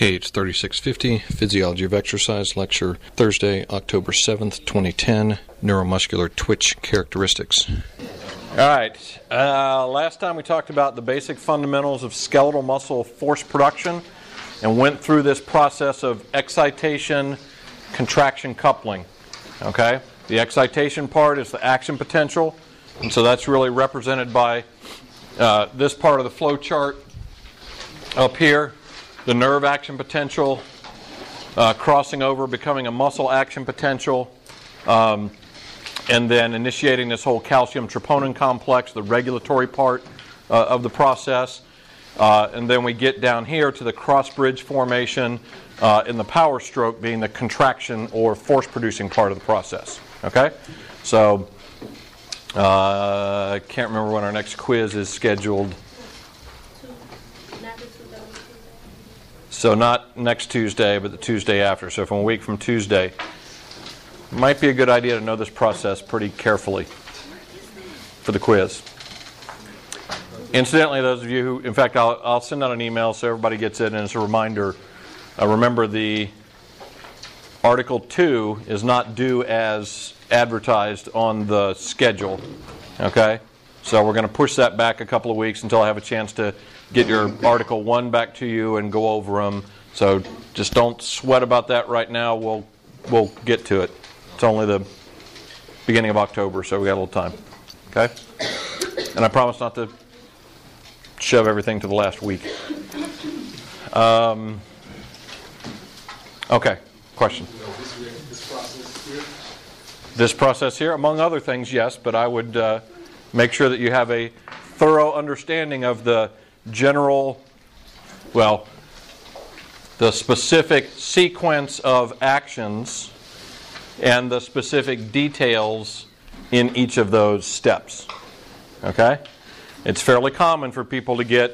KH 3650, Physiology of Exercise, lecture Thursday, October 7th, 2010, Neuromuscular Twitch Characteristics. All right, last time we talked about the basic fundamentals of skeletal muscle force production and went through this process of excitation, contraction, coupling. Okay, the excitation part is the action potential, and so that's really represented by this part of the flow chart up here. The nerve action potential, crossing over, becoming a muscle action potential, and then initiating this whole calcium troponin complex, the regulatory part of the process. And then we get down here to the cross bridge formation in the power stroke being the contraction or force producing part of the process. Okay? So, I can't remember when our next quiz is scheduled. So not next Tuesday, but the Tuesday after. So from a week from Tuesday. Might be a good idea to know this process pretty carefully for the quiz. Incidentally, those of you who, in fact, I'll send out an email so everybody gets it, and as a reminder, remember the Article 2 is not due as advertised on the schedule. Okay? So we're going to push that back a couple of weeks until I have a chance to get your Article 1 back to you and go over them. So just don't sweat about that right now. We'll get to it. It's only the beginning of October, so we got a little time. Okay? And I promise not to shove everything to the last week. Okay, question? This process here, among other things, yes, but I would make sure that you have a thorough understanding of the general, the specific sequence of actions and the specific details in each of those steps. Okay? It's fairly common for people to get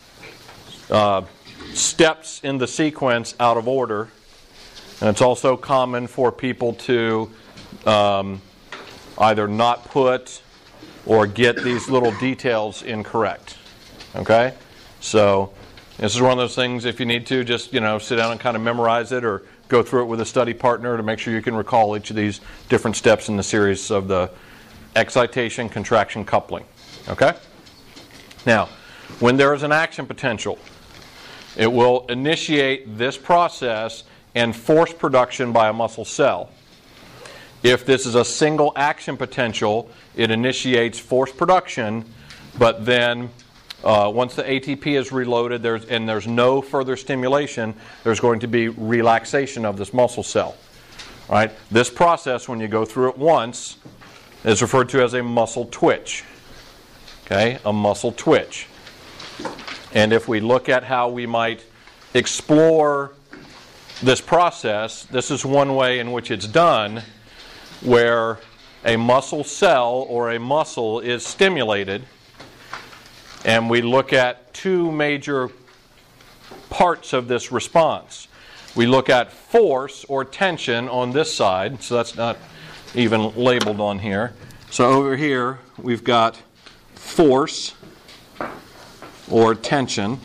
steps in the sequence out of order, and it's also common for people to either not put or get these little details incorrect. Okay? So this is one of those things, if you need to, just sit down and kind of memorize it or go through it with a study partner to make sure you can recall each of these different steps in the series of the excitation, contraction, coupling. Okay? Now, when there is an action potential, it will initiate this process and force production by a muscle cell. If this is a single action potential, it initiates force production, but then once the ATP is reloaded and there's no further stimulation, there's going to be relaxation of this muscle cell. All right? This process, when you go through it once, is referred to as a muscle twitch. Okay? A muscle twitch. And if we look at how we might explore this process, this is one way in which it's done, where a muscle cell or a muscle is stimulated, and we look at two major parts of this response. We look at force or tension on this side, so that's not even labeled on here. So over here we've got force or tension,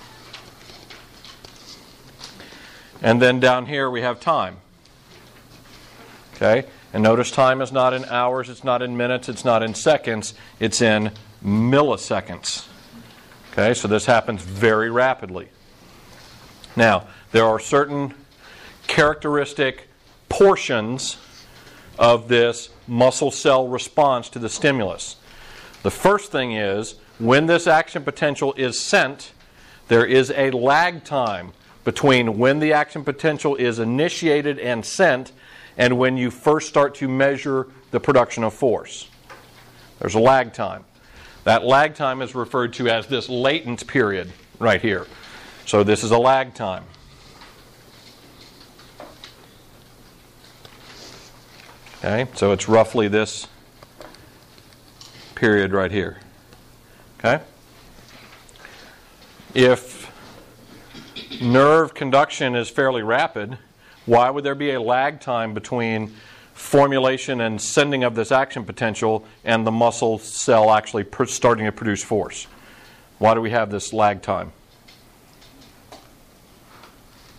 and then down here we have time. Okay? And notice time is not in hours, it's not in minutes, it's not in seconds, it's in milliseconds. Okay, so this happens very rapidly. Now, there are certain characteristic portions of this muscle cell response to the stimulus. The first thing is, when this action potential is sent, there is a lag time between when the action potential is initiated and sent and when you first start to measure the production of force. There's a lag time. That lag time is referred to as this latent period right here. So this is a lag time. Okay, so it's roughly this period right here. Okay? If nerve conduction is fairly rapid, why would there be a lag time between formulation and sending of this action potential and the muscle cell actually starting to produce force? Why do we have this lag time?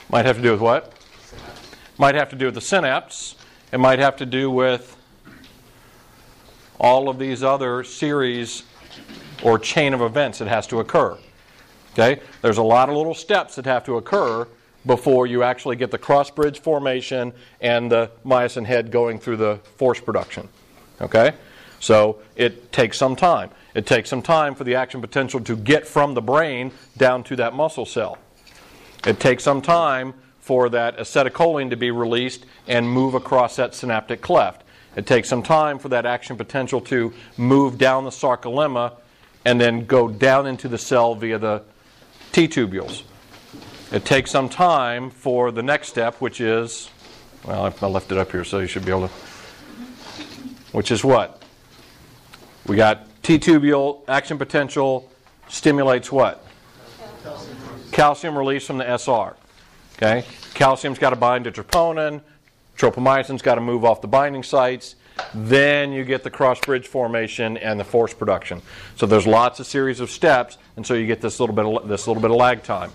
Might have to do with what? Might have to do with the synapse. It might have to do with all of these other series or chain of events that has to occur. Okay? There's a lot of little steps that have to occur before you actually get the cross-bridge formation and the myosin head going through the force production. Okay? So it takes some time. It takes some time for the action potential to get from the brain down to that muscle cell. It takes some time for that acetylcholine to be released and move across that synaptic cleft. It takes some time for that action potential to move down the sarcolemma and then go down into the cell via the T-tubules. It takes some time for the next step, which is, well, I left it up here so you should be able to, which is what? We got T-tubule action potential stimulates what? Calcium release from the SR. Okay? Calcium's got to bind to troponin. Tropomyosin's got to move off the binding sites. Then you get the cross-bridge formation and the force production. So there's lots of series of steps, and so you get this little bit of lag time.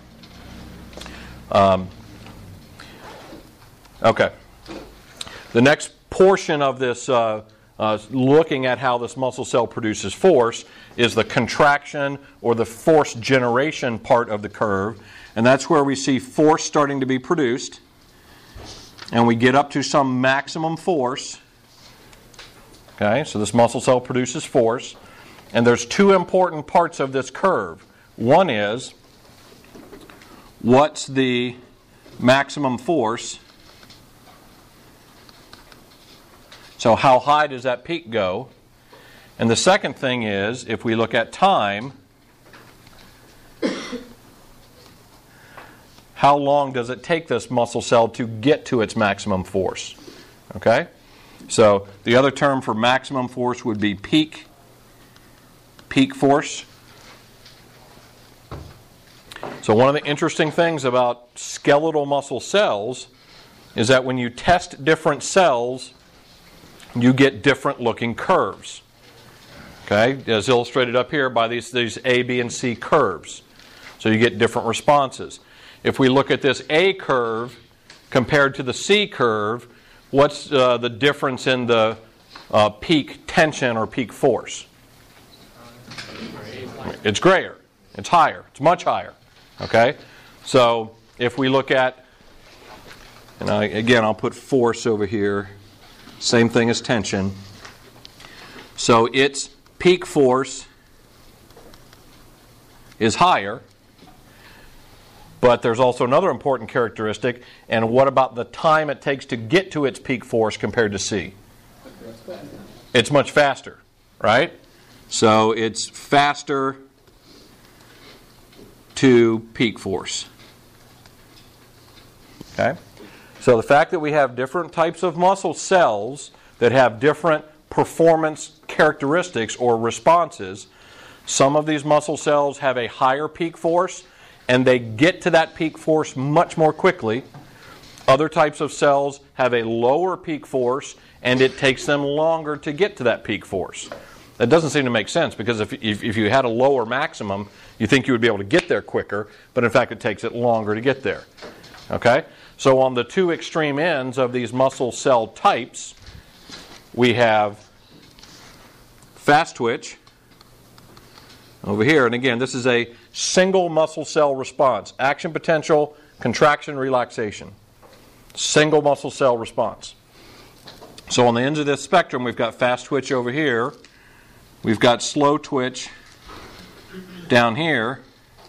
Okay. The next portion of this, looking at how this muscle cell produces force, is the contraction or the force generation part of the curve. And that's where we see force starting to be produced. And we get up to some maximum force. Okay, so this muscle cell produces force. And there's two important parts of this curve. One is, what's the maximum force? So how high does that peak go? And the second thing is, if we look at time, how long does it take this muscle cell to get to its maximum force? Okay? So the other term for maximum force would be peak force. So one of the interesting things about skeletal muscle cells is that when you test different cells, you get different looking curves. Okay? As illustrated up here by these A, B, and C curves. So you get different responses. If we look at this A curve compared to the C curve, what's the difference in the peak tension or peak force? It's grayer. It's higher. It's much higher. Okay? So if we look at, and again I'll put force over here, same thing as tension. So its peak force is higher. But there's also another important characteristic, and what about the time it takes to get to its peak force compared to C? It's much faster, right? So it's faster to peak force. Okay? So the fact that we have different types of muscle cells that have different performance characteristics or responses, some of these muscle cells have a higher peak force, and they get to that peak force much more quickly. Other types of cells have a lower peak force, and it takes them longer to get to that peak force. That doesn't seem to make sense, because if you had a lower maximum, you think you would be able to get there quicker, but in fact it takes it longer to get there. Okay? So on the two extreme ends of these muscle cell types, we have fast twitch over here, and again, this is a single muscle cell response. Action potential, contraction, relaxation. Single muscle cell response. So on the ends of this spectrum, we've got fast twitch over here. We've got slow twitch down here.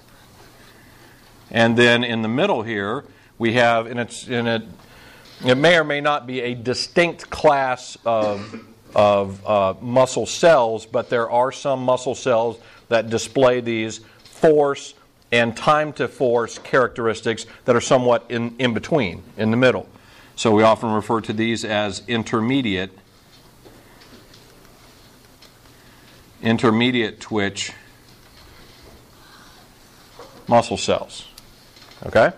And then in the middle here, we have, it may or may not be a distinct class of muscle cells, but there are some muscle cells that display these force and time to force characteristics that are somewhat in between, in the middle. So we often refer to these as intermediate twitch muscle cells. Okay?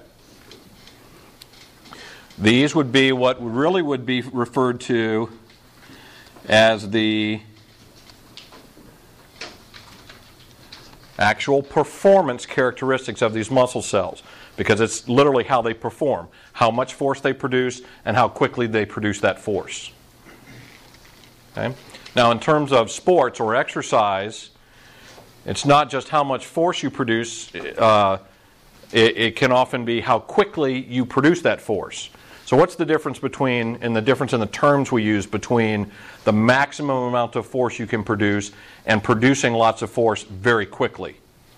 These would be what really would be referred to as the actual performance characteristics of these muscle cells, because it's literally how they perform, how much force they produce, and how quickly they produce that force. Okay? Now, in terms of sports or exercise, it's not just how much force you produce. It can often be how quickly you produce that force. So what's the difference in the terms we use between the maximum amount of force you can produce and producing lots of force very quickly?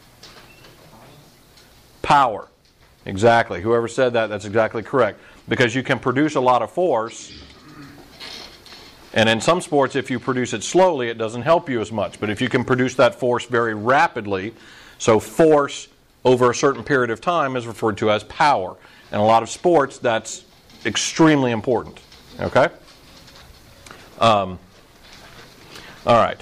Power. Exactly. Whoever said that, that's exactly correct. Because you can produce a lot of force, and in some sports, if you produce it slowly, it doesn't help you as much. But if you can produce that force very rapidly, so force over a certain period of time is referred to as power. In a lot of sports, that's extremely important. Okay? All right.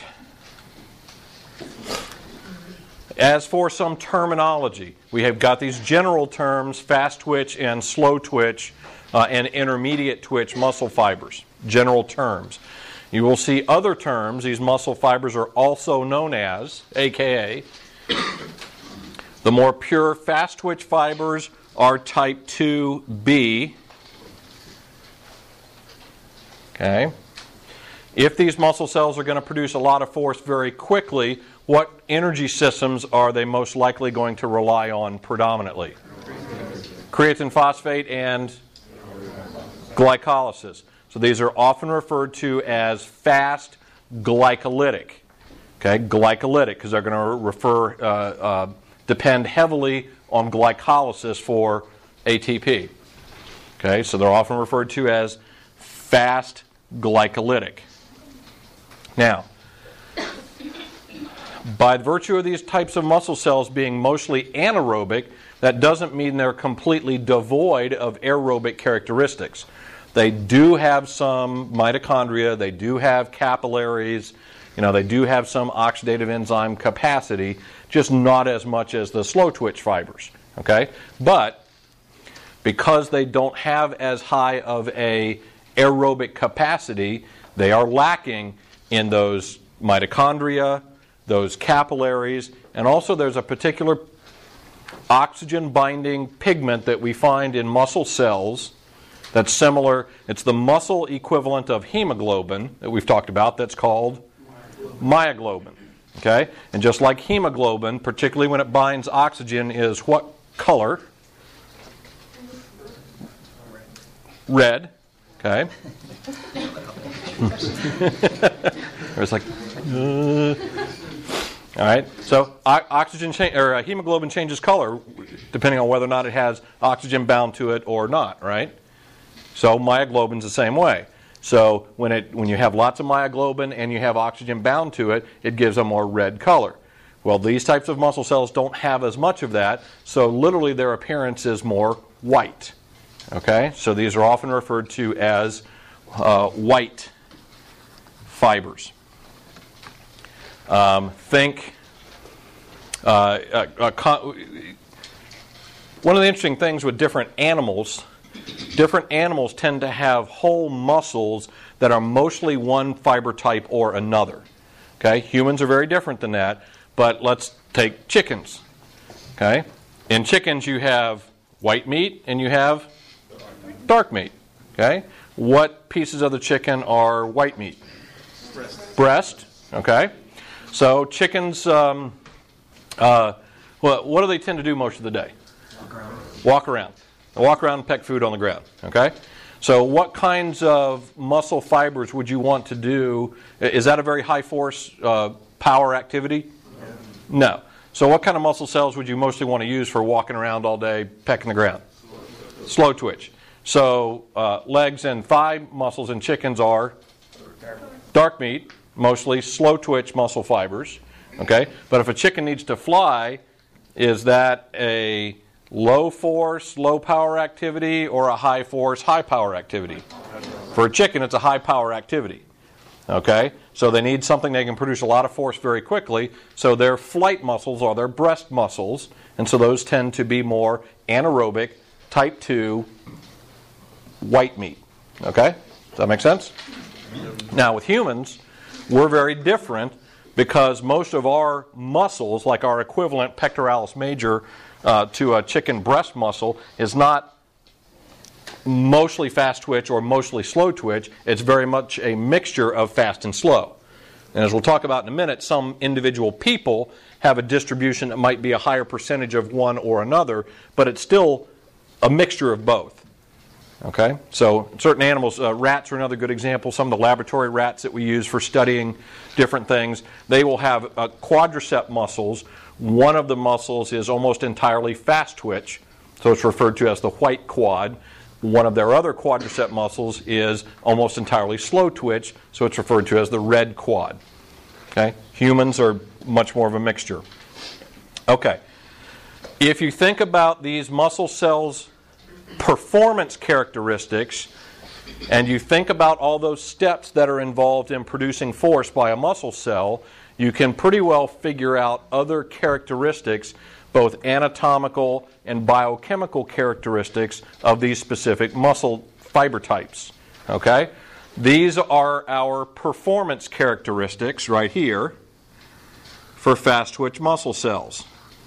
As for some terminology, we have got these general terms, fast twitch and slow twitch and intermediate twitch muscle fibers. General terms. You will see other terms. These muscle fibers are also known as, aka, the more pure fast twitch fibers are type 2B. Okay. If these muscle cells are going to produce a lot of force very quickly, what energy systems are they most likely going to rely on predominantly? Creatine phosphate and glycolysis. So these are often referred to as fast glycolytic. Okay, glycolytic, because they're going to depend heavily on glycolysis for ATP. Okay, so they're often referred to as fast glycolytic. Now, by virtue of these types of muscle cells being mostly anaerobic, that doesn't mean they're completely devoid of aerobic characteristics. They do have some mitochondria, they do have capillaries, they do have some oxidative enzyme capacity, just not as much as the slow twitch fibers. Okay? But because they don't have as high of a aerobic capacity, they are lacking in those mitochondria, those capillaries, and also there's a particular oxygen-binding pigment that we find in muscle cells that's similar. It's the muscle equivalent of hemoglobin that we've talked about that's called myoglobin. Okay? And just like hemoglobin, particularly when it binds oxygen, is what color? Red. Okay? It's like, all right. So hemoglobin changes color depending on whether or not it has oxygen bound to it or not. Right. So myoglobin's the same way. So when you have lots of myoglobin and you have oxygen bound to it, it gives a more red color. Well, these types of muscle cells don't have as much of that, so literally their appearance is more white. Okay. So these are often referred to as white fibers. One of the interesting things with different animals tend to have whole muscles that are mostly one fiber type or another. Okay, humans are very different than that, but let's take chickens. Okay, in chickens you have white meat and you have dark meat. Okay, what pieces of the chicken are white meat? Breast. Okay. So chickens, what do they tend to do most of the day? Walk around. They walk around and peck food on the ground. Okay? So what kinds of muscle fibers would you want to do? Is that a very high force power activity? No. So what kind of muscle cells would you mostly want to use for walking around all day pecking the ground? Slow twitch. So legs and thigh muscles in chickens are dark meat. Mostly slow twitch muscle fibers. Okay? But if a chicken needs to fly, is that a low force, low power activity or a high force, high power activity? For a chicken, it's a high power activity. Okay? So they need something they can produce a lot of force very quickly. So their flight muscles are their breast muscles. And so those tend to be more anaerobic, type 2, white meat. Okay? Does that make sense? Now with humans, we're very different. because most of our muscles, like our equivalent pectoralis major to a chicken breast muscle, is not mostly fast twitch or mostly slow twitch. It's very much a mixture of fast and slow. And as we'll talk about in a minute, some individual people have a distribution that might be a higher percentage of one or another, but it's still a mixture of both. Okay? So certain animals, rats are another good example. Some of the laboratory rats that we use for studying different things, they will have quadricep muscles. One of the muscles is almost entirely fast twitch, so it's referred to as the white quad. One of their other quadricep muscles is almost entirely slow twitch, so it's referred to as the red quad. Okay? Humans are much more of a mixture. Okay. If you think about these muscle cells' performance characteristics, and you think about all those steps that are involved in producing force by a muscle cell, you can pretty well figure out other characteristics, both anatomical and biochemical characteristics of these specific muscle fiber types. Okay? These are our performance characteristics right here for fast twitch muscle cells.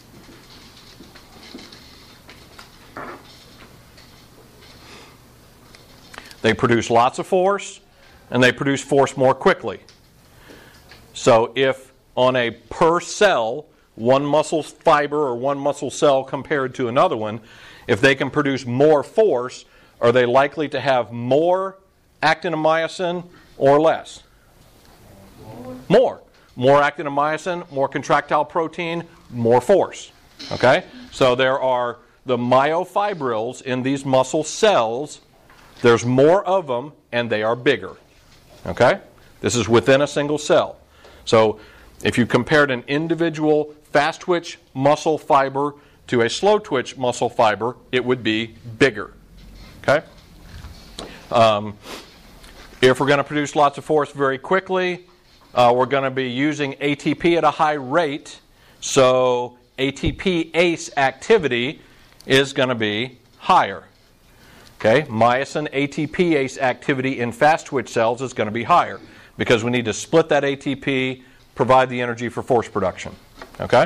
They produce lots of force, and they produce force more quickly. So if on a per cell, one muscle fiber or one muscle cell compared to another one, if they can produce more force, are they likely to have more actinomyosin or less? More. More actinomyosin, more contractile protein, more force. Okay? So there are the myofibrils in these muscle cells. There's more of them, and they are bigger. Okay? This is within a single cell. So if you compared an individual fast twitch muscle fiber to a slow twitch muscle fiber, it would be bigger. Okay? If we're going to produce lots of force very quickly, we're going to be using ATP at a high rate. So ATP ACE activity is going to be higher. Okay? Myosin ATP ACE activity in fast twitch cells is going to be higher because we need to split that ATP, provide the energy for force production. Okay?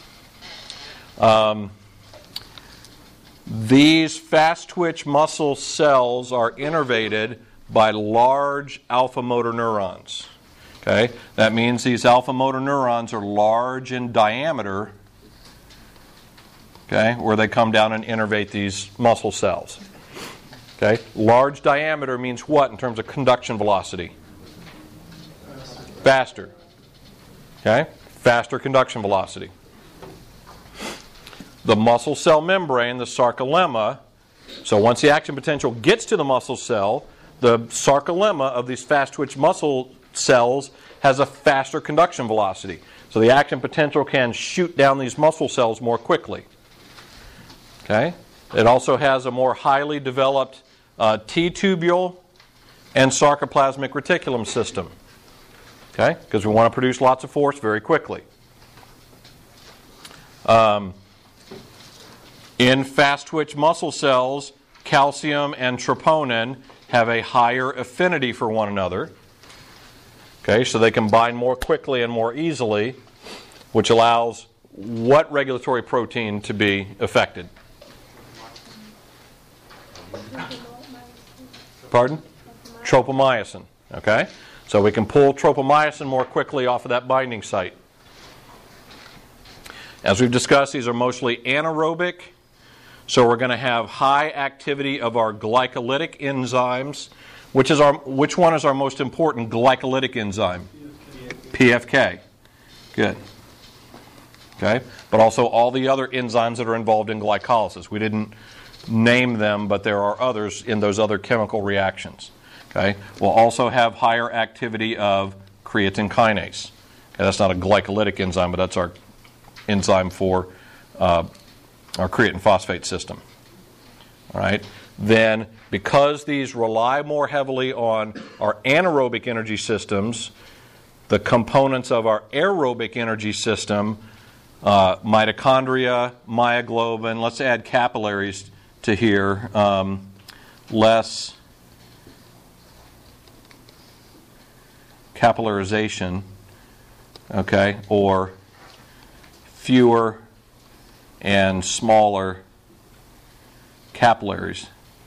These fast twitch muscle cells are innervated by large alpha motor neurons. Okay? That means these alpha motor neurons are large in diameter, okay, where they come down and innervate these muscle cells. Okay? Large diameter means what in terms of conduction velocity? Faster. Okay? Faster conduction velocity. The muscle cell membrane, the sarcolemma, so once the action potential gets to the muscle cell, the sarcolemma of these fast twitch muscle cells has a faster conduction velocity. So the action potential can shoot down these muscle cells more quickly. Okay? It also has a more highly developed T-tubule and sarcoplasmic reticulum system. Okay? Because we want to produce lots of force very quickly. In fast twitch muscle cells, calcium and troponin have a higher affinity for one another. Okay, so they can bind more quickly and more easily, which allows what regulatory protein to be affected? Pardon? Tropomyosin. Okay, so we can pull tropomyosin more quickly off of that binding site. As we've discussed, these are mostly anaerobic. So we're going to have high activity of our glycolytic enzymes. Which one is our most important glycolytic enzyme? PFK. Good. Okay. But also all the other enzymes that are involved in glycolysis. We didn't name them, but there are others in those other chemical reactions. Okay. We'll also have higher activity of creatine kinase. Okay, that's not a glycolytic enzyme, but that's our enzyme for our creatine phosphate system. All right. Then, because these rely more heavily on our anaerobic energy systems, the components of our aerobic energy system, mitochondria, myoglobin, let's add capillaries to here, less capillarization, okay, or fewer and smaller capillaries.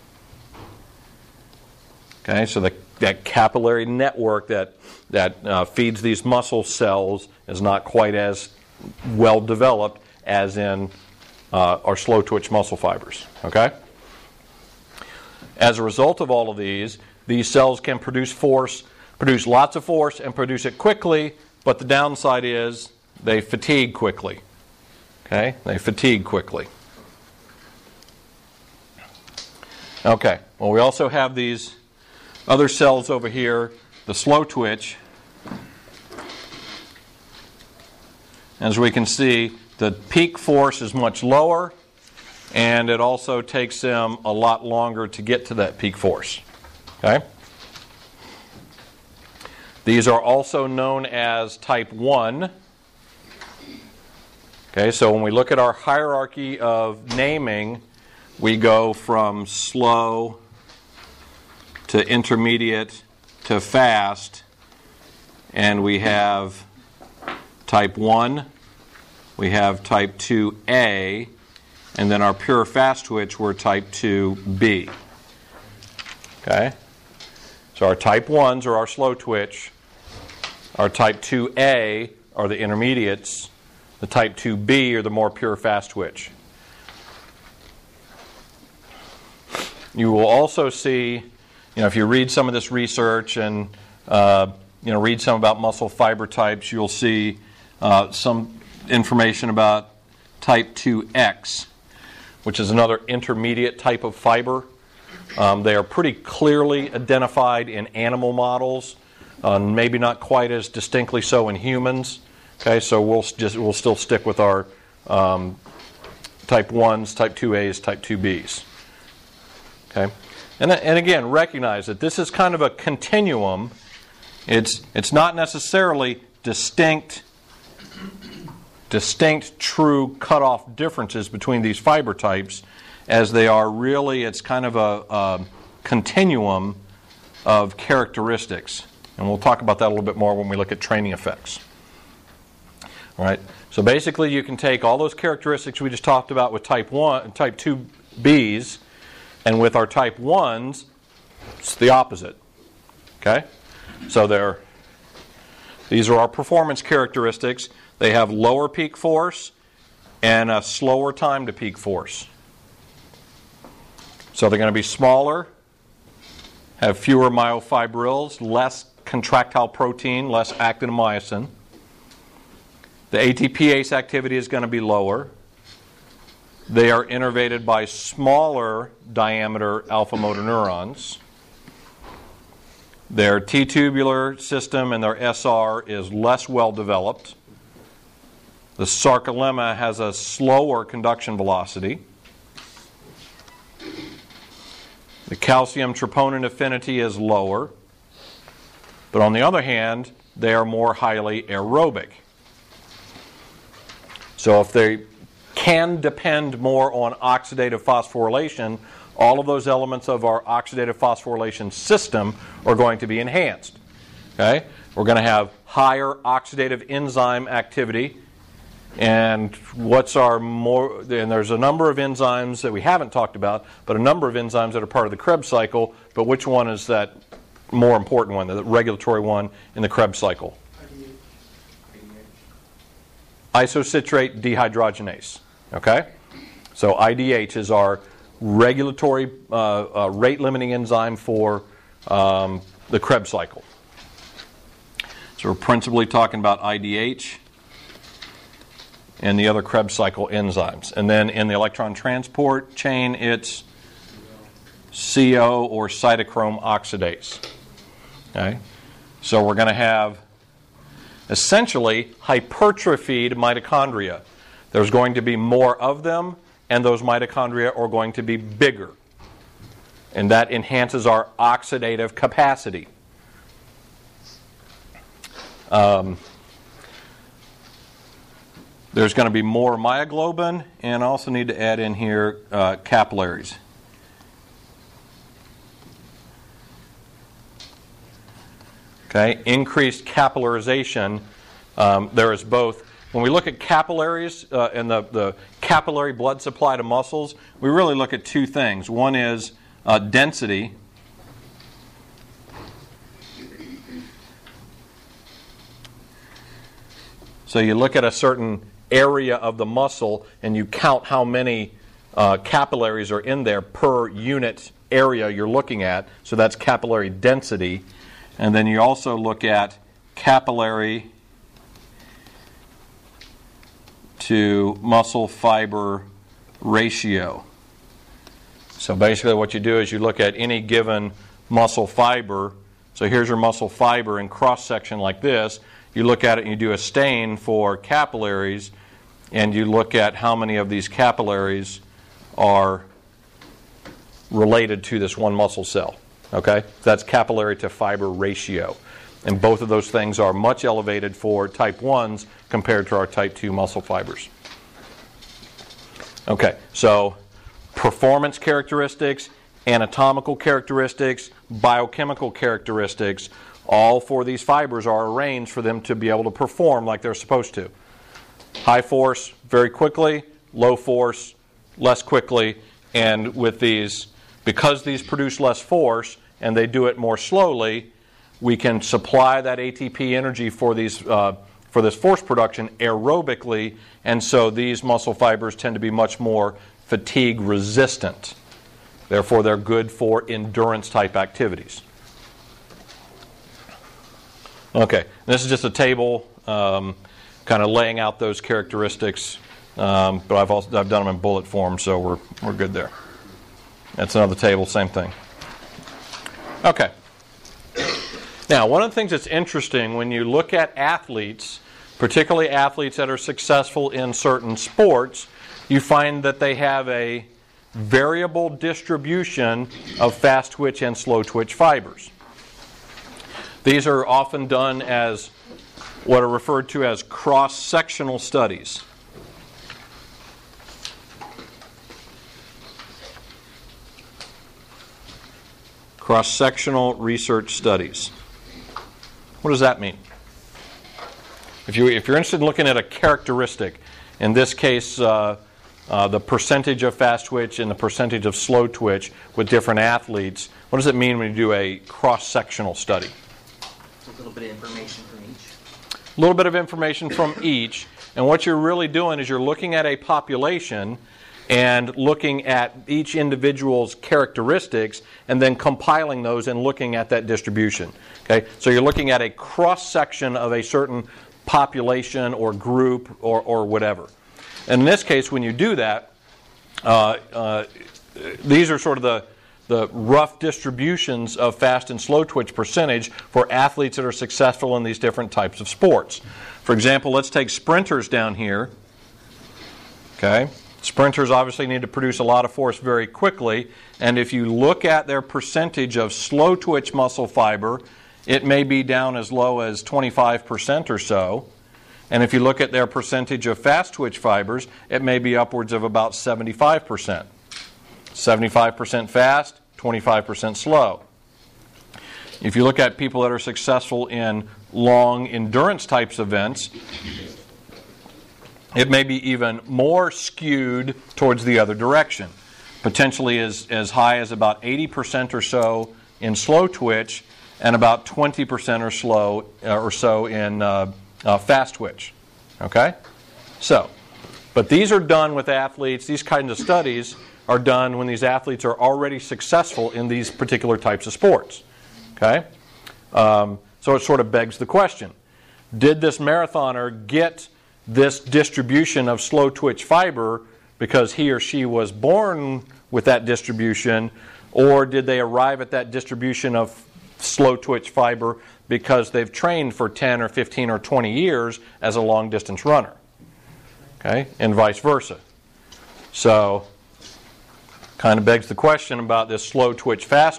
Okay, so that capillary network that feeds these muscle cells is not quite as well developed as in our slow twitch muscle fibers. Okay? As a result of all of these cells can produce lots of force and produce it quickly, but the downside is they fatigue quickly. Okay? They fatigue quickly. Okay, well, we also have these other cells over here, the slow twitch. As we can see, the peak force is much lower, and it also takes them a lot longer to get to that peak force. Okay? These are also known as type 1. Okay, so when we look at our hierarchy of naming, we go from slow to intermediate to fast, and we have type 1, we have type 2A, and then our pure fast twitch, we're type 2B. Okay? So our type 1s are our slow twitch, our type 2A are the intermediates, the type 2B are the more pure fast twitch. You will also see, if you read some of this research and read some about muscle fiber types, you'll see some information about type 2X, which is another intermediate type of fiber. They are pretty clearly identified in animal models, maybe not quite as distinctly so in humans. Okay, so we'll still stick with our type 1s, type 2As, type 2Bs. Okay, and again, recognize that this is kind of a continuum. It's not necessarily distinct true cutoff differences between these fiber types, as they are really, it's kind of a continuum of characteristics. And we'll talk about that a little bit more when we look at training effects. All right. So basically, you can take all those characteristics we just talked about with type 1 and type 2Bs, and with our type 1s, it's the opposite. Okay? So these are our performance characteristics. They have lower peak force and a slower time to peak force. So they're going to be smaller, have fewer myofibrils, less contractile protein, less actin and myosin. The ATPase activity is going to be lower. They are innervated by smaller diameter alpha motor neurons. Their T-tubular system and their SR is less well developed. The sarcolemma has a slower conduction velocity. The calcium troponin affinity is lower. But on the other hand, they are more highly aerobic. So if they can depend more on oxidative phosphorylation, all of those elements of our oxidative phosphorylation system are going to be enhanced. Okay? We're going to have higher oxidative enzyme activity. And there's a number of enzymes that we haven't talked about, but a number of enzymes that are part of the Krebs cycle. But which one is that more important one, the regulatory one in the Krebs cycle? Isocitrate dehydrogenase. Okay? So IDH is our regulatory rate-limiting enzyme for the Krebs cycle. So we're principally talking about IDH and the other Krebs cycle enzymes. And then in the electron transport chain, it's CO or cytochrome oxidase. Okay? So we're going to have essentially hypertrophied mitochondria. There's going to be more of them, and those mitochondria are going to be bigger. And that enhances our oxidative capacity. There's going to be more myoglobin, and I also need to add in here capillaries. Okay, increased capillarization There is both. When we look at capillaries and the capillary blood supply to muscles, we really look at two things. One is density. So you look at a certain area of the muscle and you count how many capillaries are in there per unit area you're looking at. So that's capillary density. And then you also look at capillary to muscle fiber ratio. So basically what you do is you look at any given muscle fiber. So here's your muscle fiber in cross-section like this. You look at it and you do a stain for capillaries, and you look at how many of these capillaries are related to this one muscle cell. Okay? That's capillary to fiber ratio. And both of those things are much elevated for type 1s compared to our type 2 muscle fibers. Okay, so performance characteristics, anatomical characteristics, biochemical characteristics, all for these fibers are arranged for them to be able to perform like they're supposed to. High force, very quickly, low force, less quickly, and with these, because these produce less force and they do it more slowly, we can supply that ATP energy for these for this force production aerobically, and so these muscle fibers tend to be much more fatigue resistant. Therefore, they're good for endurance type activities. Okay, this is just a table kind of laying out those characteristics, but I've done them in bullet form, so we're good there. That's another table, same thing. Okay. Now, one of the things that's interesting when you look at athletes, particularly athletes that are successful in certain sports, you find that they have a variable distribution of fast twitch and slow twitch fibers. These are often done as what are referred to as cross-sectional studies. Cross-sectional research studies. What does that mean? If you're interested in looking at a characteristic, in this case the percentage of fast twitch and the percentage of slow twitch with different athletes, what does it mean when you do a cross-sectional study? A little bit of information from each. A little bit of information from each, and what you're really doing is you're looking at a population and looking at each individual's characteristics and then compiling those and looking at that distribution. Okay? So you're looking at a cross-section of a certain population or group or whatever. And in this case, when you do that, these are sort of the rough distributions of fast and slow twitch percentage for athletes that are successful in these different types of sports. For example, let's take sprinters down here. Okay? Sprinters obviously need to produce a lot of force very quickly, and if you look at their percentage of slow twitch muscle fiber, it may be down as low as 25% or so. And if you look at their percentage of fast twitch fibers, it may be upwards of about 75%. 75% fast, 25% slow. If you look at people that are successful in long endurance types events, it may be even more skewed towards the other direction. Potentially as high as about 80% or so in slow twitch and about 20% or so in fast twitch. Okay? So, but these are done with athletes, these kinds of studies are done when these athletes are already successful in these particular types of sports. Okay? So it sort of begs the question, did this marathoner get this distribution of slow twitch fiber because he or she was born with that distribution, or did they arrive at that distribution of slow twitch fiber because they've trained for 10 or 15 or 20 years as a long distance runner? Okay, and vice versa. So kind of begs the question about this slow twitch fast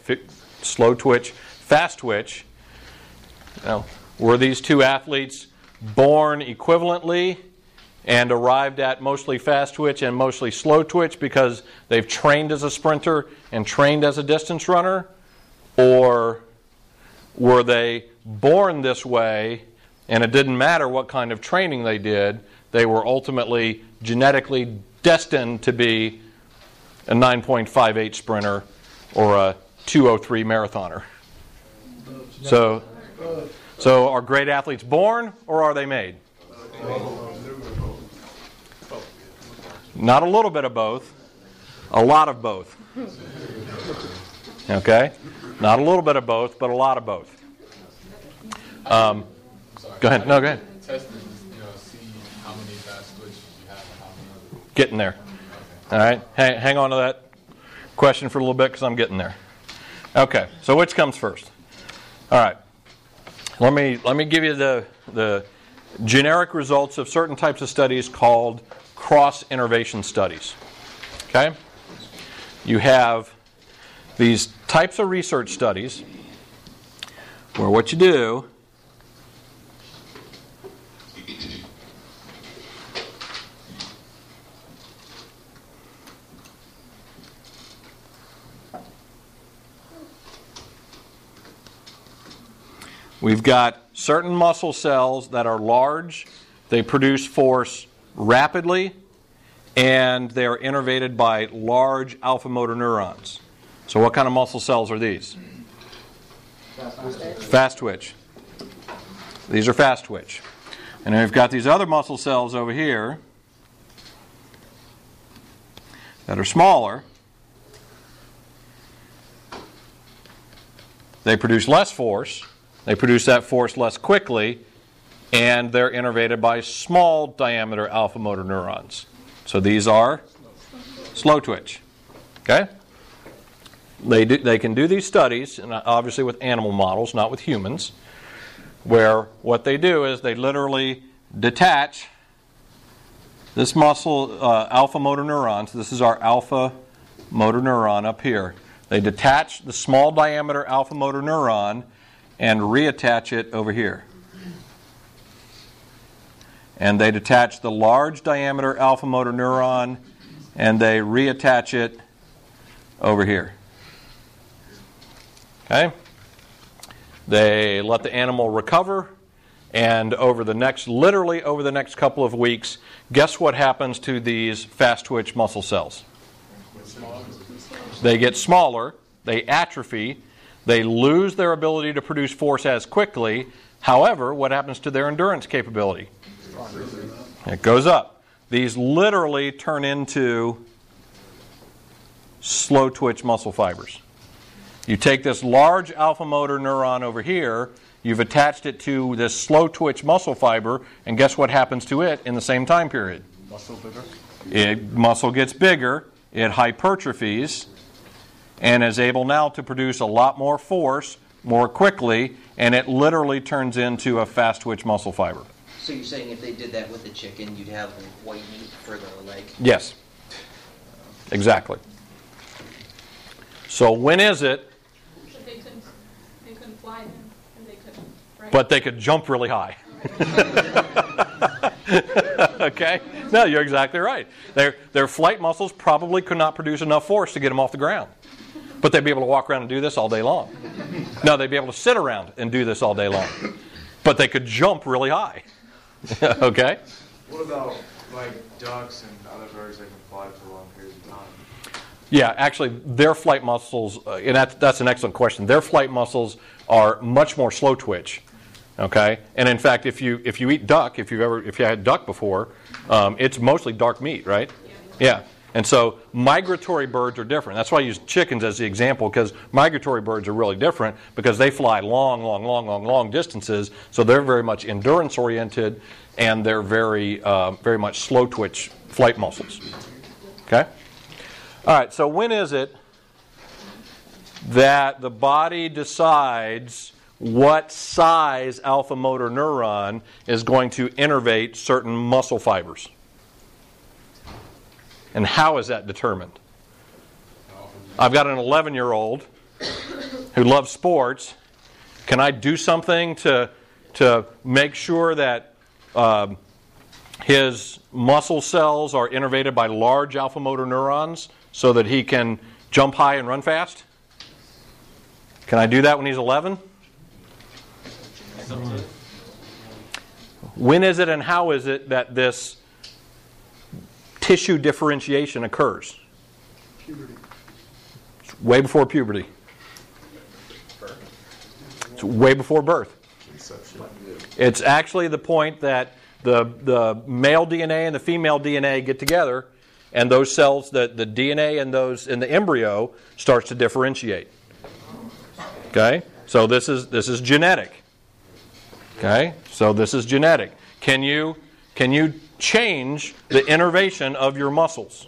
twitch. Were these two athletes born equivalently and arrived at mostly fast twitch and mostly slow twitch because they've trained as a sprinter and trained as a distance runner? Or were they born this way and it didn't matter what kind of training they did, they were ultimately genetically destined to be a 9.58 sprinter or a 2:03 marathoner. So are great athletes born or are they made? Not a little bit of both, a lot of both. Okay? Not a little bit of both, but a lot of both. Go ahead. No, go ahead. Test is, see how many fast twitches you have and how many other. Getting there. All right? Hang on to that question for a little bit because I'm getting there. Okay, so which comes first? All right. Let me give you the generic results of certain types of studies called cross-innervation studies. Okay? You have these types of research studies where what you do we've got certain muscle cells that are large, they produce force rapidly, and they are innervated by large alpha motor neurons. So what kind of muscle cells are these? Fast twitch. These are fast twitch. And then we've got these other muscle cells over here that are smaller. They produce less force. They produce that force less quickly, and they're innervated by small diameter alpha motor neurons. So these are slow twitch. Okay? They can do these studies, and obviously with animal models, not with humans, where what they do is they literally detach this muscle alpha motor neurons. This is our alpha motor neuron up here. They detach the small diameter alpha motor neuron and reattach it over here. And they detach the large diameter alpha motor neuron and they reattach it over here. Okay? They let the animal recover, and literally over the next couple of weeks, guess what happens to these fast twitch muscle cells? They get smaller, they atrophy, they lose their ability to produce force as quickly. However, what happens to their endurance capability? It goes up. These literally turn into slow twitch muscle fibers. You take this large alpha motor neuron over here, you've attached it to this slow twitch muscle fiber, and guess what happens to it in the same time period? Muscle gets bigger, it hypertrophies, and is able now to produce a lot more force more quickly, and it literally turns into a fast twitch muscle fiber. So you're saying if they did that with a chicken, you'd have white meat for the leg? Yes. Exactly. So when is it? They couldn't fly then, and they couldn't, right? But they could jump really high. Okay? No, you're exactly right. Their flight muscles probably could not produce enough force to get them off the ground. But they'd be able to walk around and do this all day long. No, they'd be able to sit around and do this all day long. But they could jump really high. Okay? What about like ducks and other birds that can fly for long periods of time? Yeah, actually, their flight muscles, and that's an excellent question. Their flight muscles are much more slow twitch. Okay, and in fact, if you eat duck, if you had duck before, it's mostly dark meat, right? Yeah. And so migratory birds are different. That's why I use chickens as the example, because migratory birds are really different because they fly long distances. So they're very much endurance oriented, and they're very much slow twitch flight muscles. Okay. All right. So when is it that the body decides what size alpha motor neuron is going to innervate certain muscle fibers? And how is that determined? I've got an 11-year-old who loves sports. Can I do something to make sure that his muscle cells are innervated by large alpha motor neurons so that he can jump high and run fast? Can I do that when he's 11? When is it and how is it that this tissue differentiation occurs? Puberty. It's way before puberty. It's way before birth. Inception. It's actually the point that the male DNA and the female DNA get together, and those cells, the DNA in those in the embryo starts to differentiate. Okay? So this is genetic. Okay? So this is genetic. Can you change the innervation of your muscles?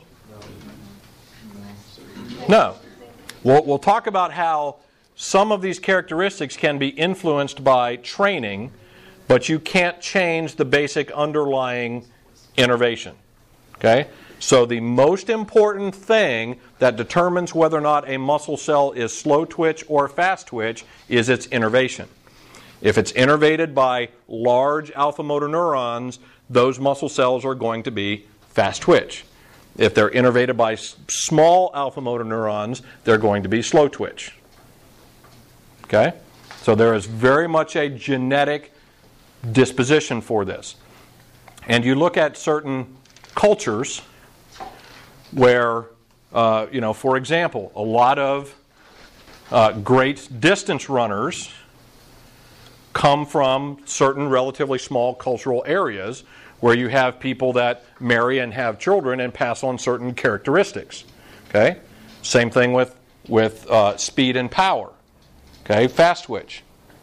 No. We'll talk about how some of these characteristics can be influenced by training, but you can't change the basic underlying innervation. Okay? So the most important thing that determines whether or not a muscle cell is slow twitch or fast twitch is its innervation. If it's innervated by large alpha motor neurons, those muscle cells are going to be fast twitch. If they're innervated by small alpha motor neurons, they're going to be slow twitch. Okay? So there is very much a genetic disposition for this. And you look at certain cultures where, for example, a lot of great distance runners come from certain relatively small cultural areas where you have people that marry and have children and pass on certain characteristics. Okay? Same thing with speed and power. Okay? Fast twitch.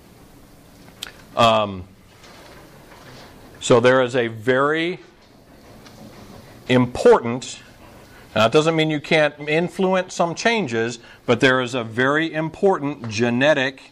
So there is a very important, now it doesn't mean you can't influence some changes, but there is a very important genetic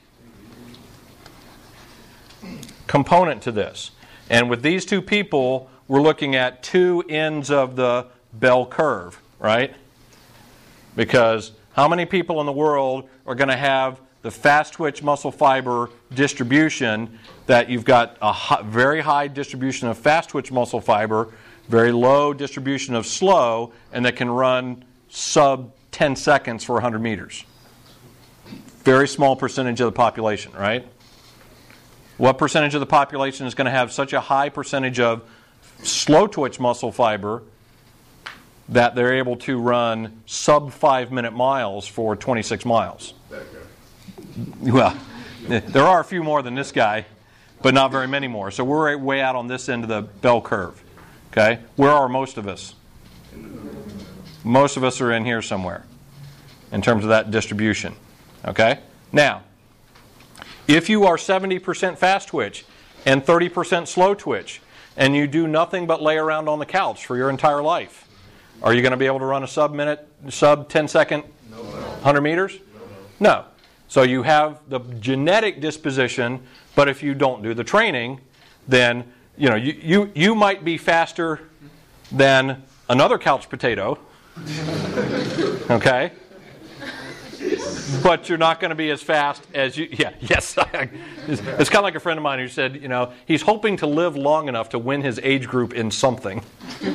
component to this. And with these two people, we're looking at two ends of the bell curve, right? Because how many people in the world are going to have the fast twitch muscle fiber distribution that you've got a very high distribution of fast twitch muscle fiber, very low distribution of slow, and that can run sub 10 seconds for 100 meters? Very small percentage of the population, right? What percentage of the population is going to have such a high percentage of slow twitch muscle fiber that they're able to run sub 5-minute miles for 26 miles? Well, there are a few more than this guy, but not very many more. So we're way out on this end of the bell curve. Okay? Where are most of us? Most of us are in here somewhere in terms of that distribution. Okay? Now, if you are 70% fast twitch and 30% slow twitch, and you do nothing but lay around on the couch for your entire life, are you going to be able to run a sub 10 second 100 meters? No. So you have the genetic disposition, but if you don't do the training, then you might be faster than another couch potato. Okay? But you're not going to be as fast as you... Yeah, yes. It's kind of like a friend of mine who said, he's hoping to live long enough to win his age group in something.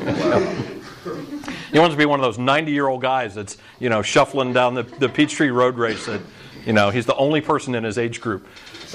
He wants to be one of those 90-year-old guys that's, shuffling down the Peachtree Road race that, he's the only person in his age group.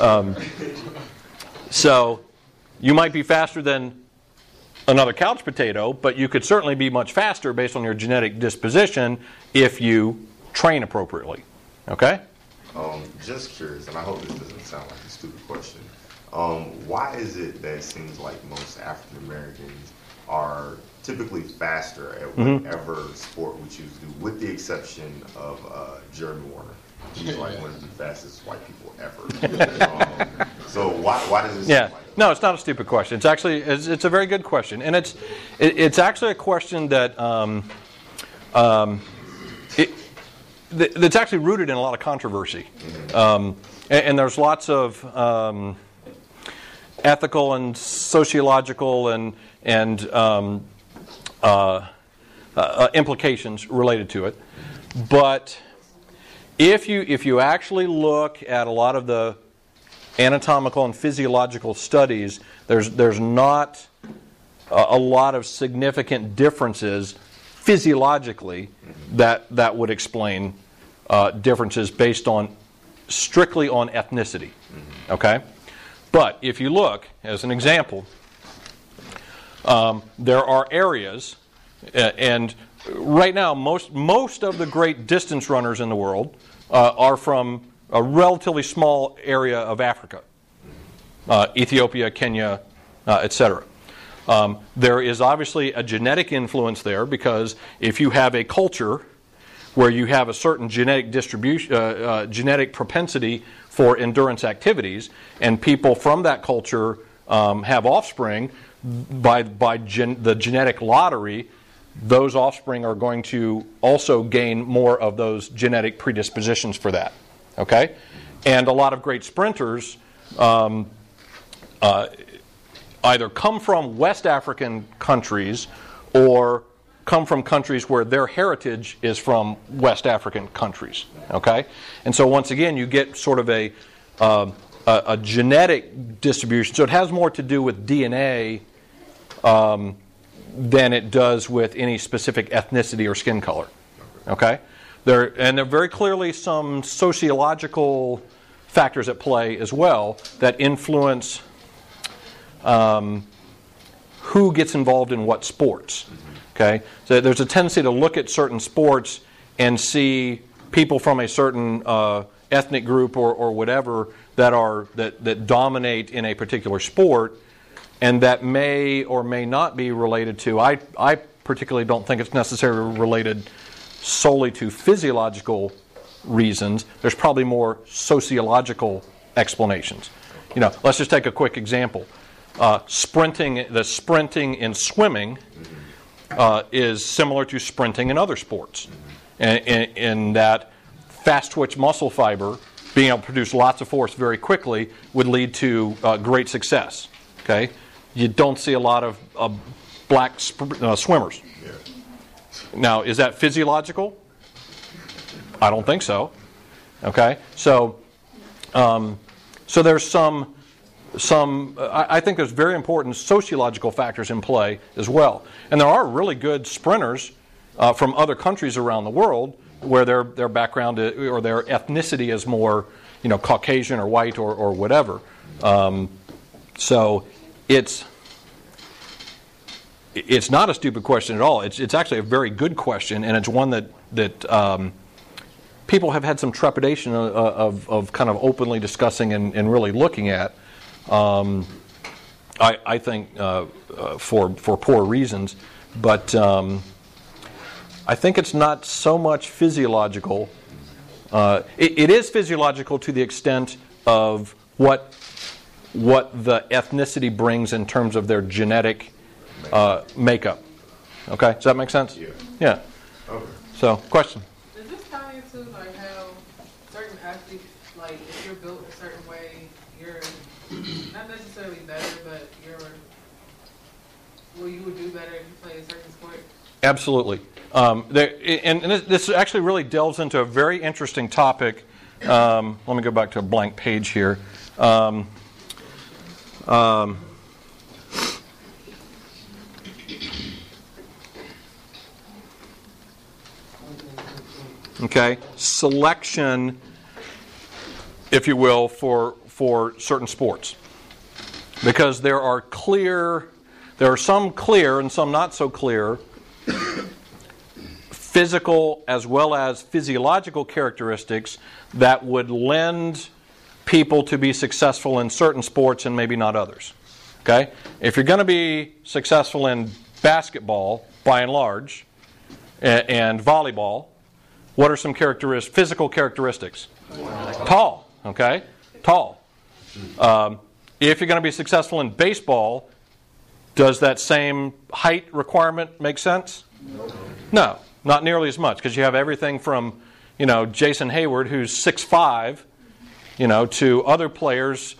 So you might be faster than another couch potato, but you could certainly be much faster based on your genetic disposition if you train appropriately. Okay? Just curious, and I hope this doesn't sound like a stupid question. Why is it that it seems like most African Americans are typically faster at whatever sport we choose to do, with the exception of Jeremy Warner? He's like one of the fastest white people ever. So why does it seem like that? No, it's not a stupid question. It's actually it's a very good question, and it's actually a question that that's actually rooted in a lot of controversy, and there's lots of ethical and sociological and implications related to it. But if you actually look at a lot of the anatomical and physiological studies, there's not a lot of significant differences physiologically that would explain differences based strictly on ethnicity. Okay? But if you look, as an example, There are areas, and right now most of the great distance runners in the world are from a relatively small area of Africa, Ethiopia, Kenya, etc. There is obviously a genetic influence there, because if you have a culture where you have a certain genetic distribution, genetic propensity for endurance activities, and people from that culture have offspring, by the genetic lottery, those offspring are going to also gain more of those genetic predispositions for that. Okay? And a lot of great sprinters either come from West African countries or come from countries where their heritage is from West African countries. Okay? And so once again, you get sort of a genetic distribution. So it has more to do with DNA than it does with any specific ethnicity or skin color. Okay? There are very clearly some sociological factors at play as well that influence who gets involved in what sports. Okay? So there's a tendency to look at certain sports and see people from a certain ethnic group or whatever that dominate in a particular sport, and that may or may not be related to. I particularly don't think it's necessarily related solely to physiological reasons. There's probably more sociological explanations. Let's just take a quick example. The sprinting in swimming is similar to sprinting in other sports, in that fast twitch muscle fiber, being able to produce lots of force very quickly, would lead to great success. Okay, you don't see a lot of black swimmers. Now, is that physiological? I don't think so. Okay, so there's some. I think there's very important sociological factors in play as well, and there are really good sprinters from other countries around the world where their background or their ethnicity is more, Caucasian or white or whatever. So it's not a stupid question at all. It's actually a very good question, and it's one that people have had some trepidation of kind of openly discussing and really looking at. I think for poor reasons, but I think it's not so much physiological. It is physiological to the extent of what the ethnicity brings in terms of their genetic makeup. Okay, does that make sense? Yeah. Okay. So, question. Does this tie into like how certain athletes, like if you're built a certain way, you're not necessarily better, but you would do better if you play a certain sport? Absolutely. And this actually really delves into a very interesting topic. Let me go back to a blank page here. Okay, selection, if you will, for certain sports, because there are some clear and some not so clear physical as well as physiological characteristics that would lend people to be successful in certain sports and maybe not others. Okay, if you're going to be successful in basketball, by and large, and volleyball, what are some physical characteristics? Tall. Okay? Tall. If you're going to be successful in baseball, does that same height requirement make sense? No, not nearly as much, because you have everything from, Jason Hayward, who's 6'5", to other players.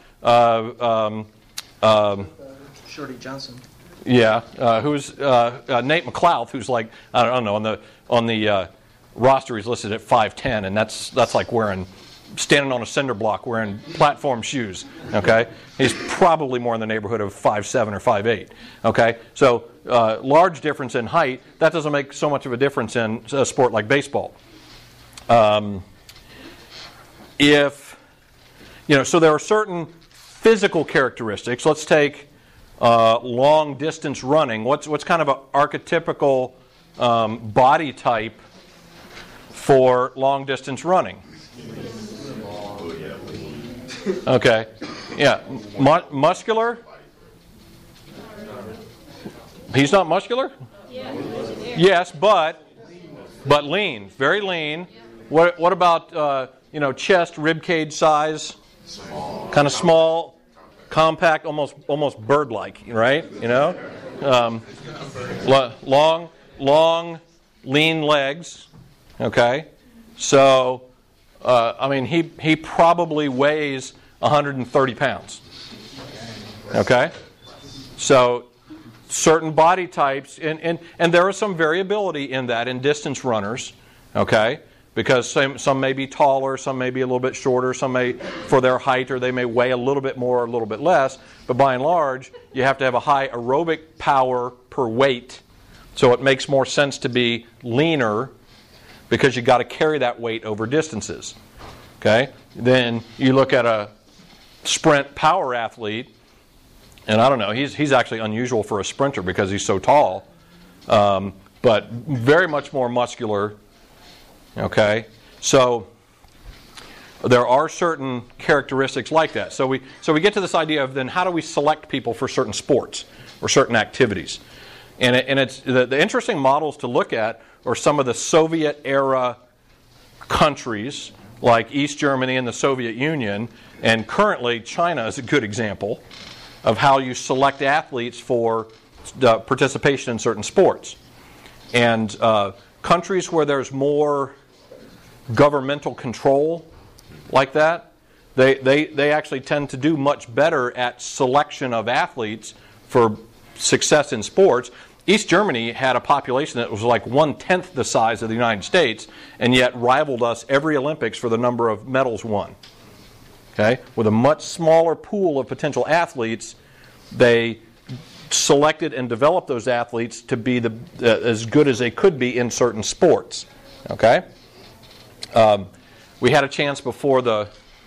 Shorty Johnson. Yeah, who's Nate McLouth, who's like, I don't know, on the roster he's listed at 5'10", and that's like standing on a cinder block wearing platform shoes. Okay, he's probably more in the neighborhood of 5'7" or 5'8". Okay, so large difference in height. That doesn't make so much of a difference in a sport like baseball. So there are certain physical characteristics. Let's take long distance running, what's kind of an archetypical body type for long distance running? Okay. Yeah. Muscular? He's not muscular? Yes, but lean. Very lean. What about chest, rib cage size? Kind of small, compact, almost bird-like, right? Long, lean legs. Okay. So, he probably weighs 130 pounds. Okay. So, certain body types, and there is some variability in that in distance runners. Okay. Because some may be taller, some may be a little bit shorter, some may, for their height, or they may weigh a little bit more or a little bit less. But by and large, you have to have a high aerobic power per weight. So it makes more sense to be leaner because you've got to carry that weight over distances. Okay? Then you look at a sprint power athlete, and I don't know, he's actually unusual for a sprinter because he's so tall, but very much more muscular. Okay, so there are certain characteristics like that. So we get to this idea of then how do we select people for certain sports or certain activities, and it's the interesting models to look at are some of the Soviet era countries like East Germany and the Soviet Union, and currently China is a good example of how you select athletes for participation in certain sports, and countries where there's more governmental control like that, they actually tend to do much better at selection of athletes for success in sports. East Germany had a population that was like 1/10 the size of the United States, and yet rivaled us every Olympics for the number of medals won. Okay, with a much smaller pool of potential athletes, they selected and developed those athletes to be as good as they could be in certain sports. Okay, we had a chance before the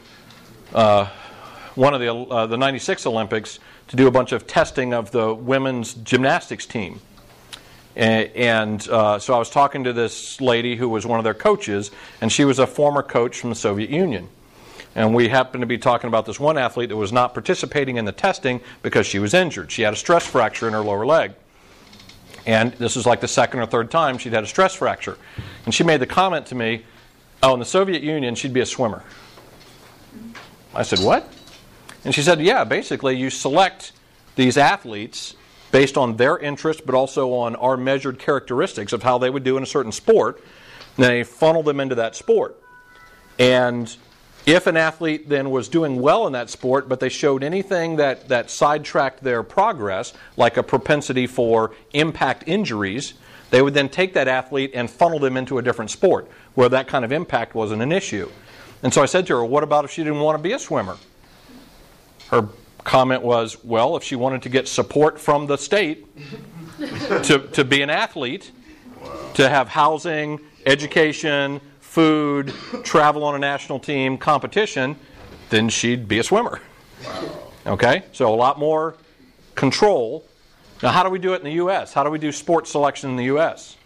one of the '96 Olympics to do a bunch of testing of the women's gymnastics team, and so I was talking to this lady who was one of their coaches, and she was a former coach from the Soviet Union. And we happened to be talking about this one athlete that was not participating in the testing because she was injured. She had a stress fracture in her lower leg. And this was like the second or third time she'd had a stress fracture. And she made the comment to me, in the Soviet Union, she'd be a swimmer. I said, what? And she said, yeah, basically you select these athletes based on their interest, but also on our measured characteristics of how they would do in a certain sport. And they funnel them into that sport. And if an athlete then was doing well in that sport, but they showed anything that sidetracked their progress, like a propensity for impact injuries, they would then take that athlete and funnel them into a different sport where that kind of impact wasn't an issue. And so I said to her, what about if she didn't want to be a swimmer? Her comment was, well, if she wanted to get support from the state to be an athlete, to have housing, education, food, travel on a national team, competition, then she'd be a swimmer. Okay? So a lot more control. Now, how do we do it in the U.S.? How do we do sports selection in the U.S.?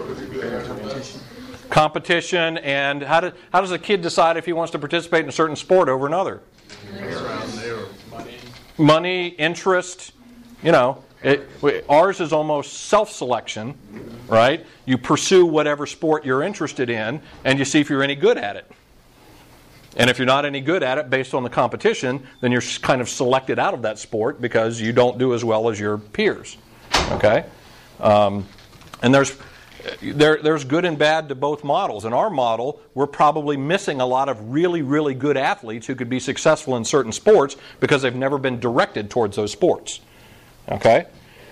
Competition, and how does a kid decide if he wants to participate in a certain sport over another? Money, interest, ours is almost self-selection, right? You pursue whatever sport you're interested in, and you see if you're any good at it. And if you're not any good at it based on the competition, then you're kind of selected out of that sport because you don't do as well as your peers. Okay? And there's good and bad to both models. In our model, we're probably missing a lot of really, really good athletes who could be successful in certain sports because they've never been directed towards those sports. Okay?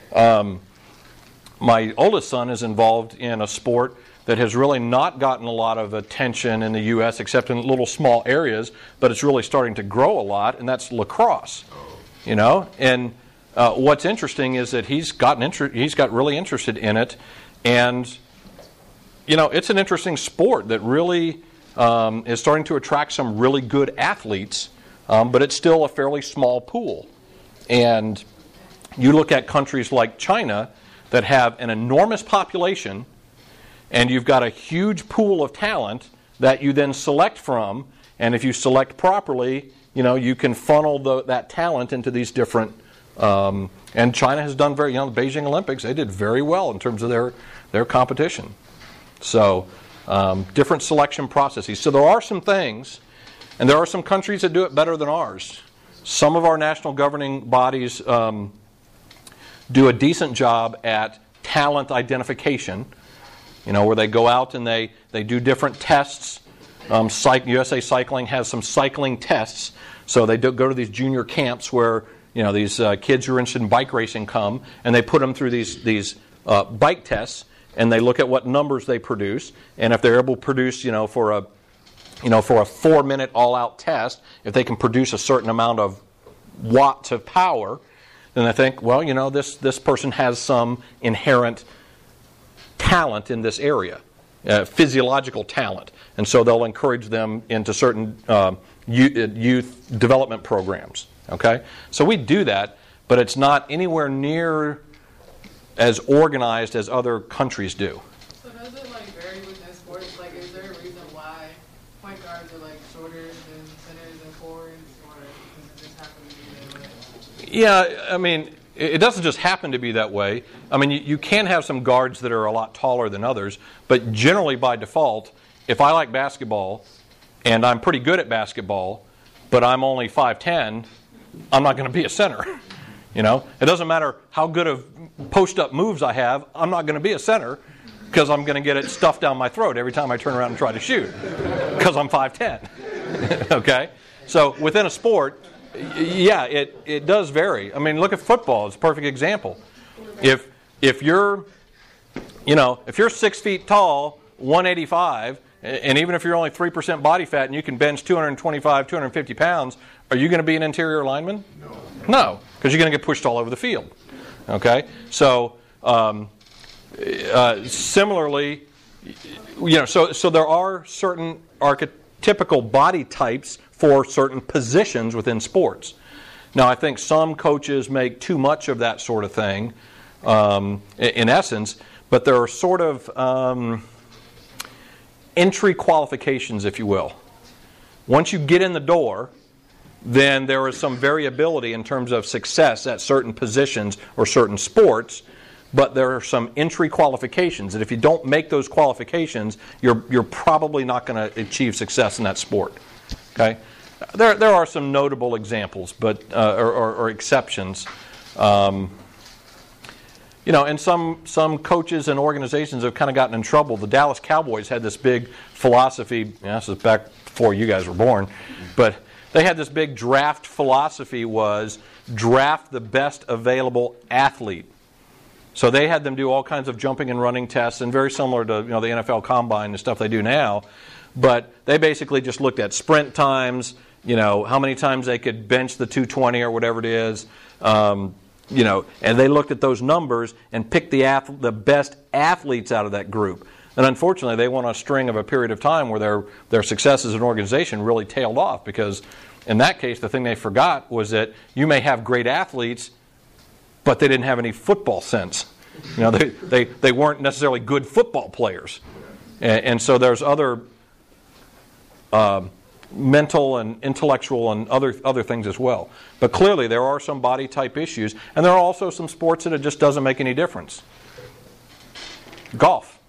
My oldest son is involved in a sport that has really not gotten a lot of attention in the U.S. except in little small areas, but it's really starting to grow a lot, and that's lacrosse. And what's interesting is that he's got really interested in it, and it's an interesting sport that really is starting to attract some really good athletes, but it's still a fairly small pool. And you look at countries like China that have an enormous population, and you've got a huge pool of talent that you then select from, and if you select properly, you can funnel that talent into these different. And China has done the Beijing Olympics, they did very well in terms of their competition. So, different selection processes. So there are some things, and there are some countries that do it better than ours. Some of our national governing bodies do a decent job at talent identification, where they go out and they do different tests. USA Cycling has some cycling tests. So they go to these junior camps where these kids who are interested in bike racing come, and they put them through these bike tests, and they look at what numbers they produce, and if they're able to produce, for a 4-minute all-out test, if they can produce a certain amount of watts of power, then I think, well, this person has some inherent talent in this area, physiological talent, and so they'll encourage them into certain youth development programs. Okay, so we do that, but it's not anywhere near as organized as other countries do. So does it vary within sports? Is there a reason why point guards are shorter than centers and forwards, or does it just happen to be that way? Yeah, I mean, it doesn't just happen to be that way. I mean, you can have some guards that are a lot taller than others, but generally by default, if I like basketball and I'm pretty good at basketball, but I'm only 5'10", I'm not going to be a center. It doesn't matter how good of post-up moves I have, I'm not going to be a center because I'm going to get it stuffed down my throat every time I turn around and try to shoot because I'm 5'10". Okay? So within a sport, yeah, it does vary. I mean, look at football. It's a perfect example. If you're 6 feet tall, 185, and even if you're only 3% body fat and you can bench 225, 250 pounds, are you going to be an interior lineman? No, because you're going to get pushed all over the field. Okay? So, similarly, so there are certain archetypical body types for certain positions within sports. Now, I think some coaches make too much of that sort of thing, in essence, but there are sort of entry qualifications, if you will. Once you get in the door, then there is some variability in terms of success at certain positions or certain sports, but there are some entry qualifications, and if you don't make those qualifications, you're probably not going to achieve success in that sport. Okay, there are some notable examples, but or exceptions. And some coaches and organizations have kind of gotten in trouble. The Dallas Cowboys had this big philosophy. This is back before you guys were born, but they had this big draft philosophy: was draft the best available athlete. So they had them do all kinds of jumping and running tests, and very similar to the NFL Combine and stuff they do now. But they basically just looked at sprint times, how many times they could bench the 220 or whatever it is, and they looked at those numbers and picked the best athletes out of that group. And unfortunately, they went on a string of a period of time where their success as an organization really tailed off, because in that case, the thing they forgot was that you may have great athletes, but they didn't have any football sense. They weren't necessarily good football players. And so there's other mental and intellectual and other things as well. But clearly there are some body type issues, and there are also some sports that it just doesn't make any difference. Golf.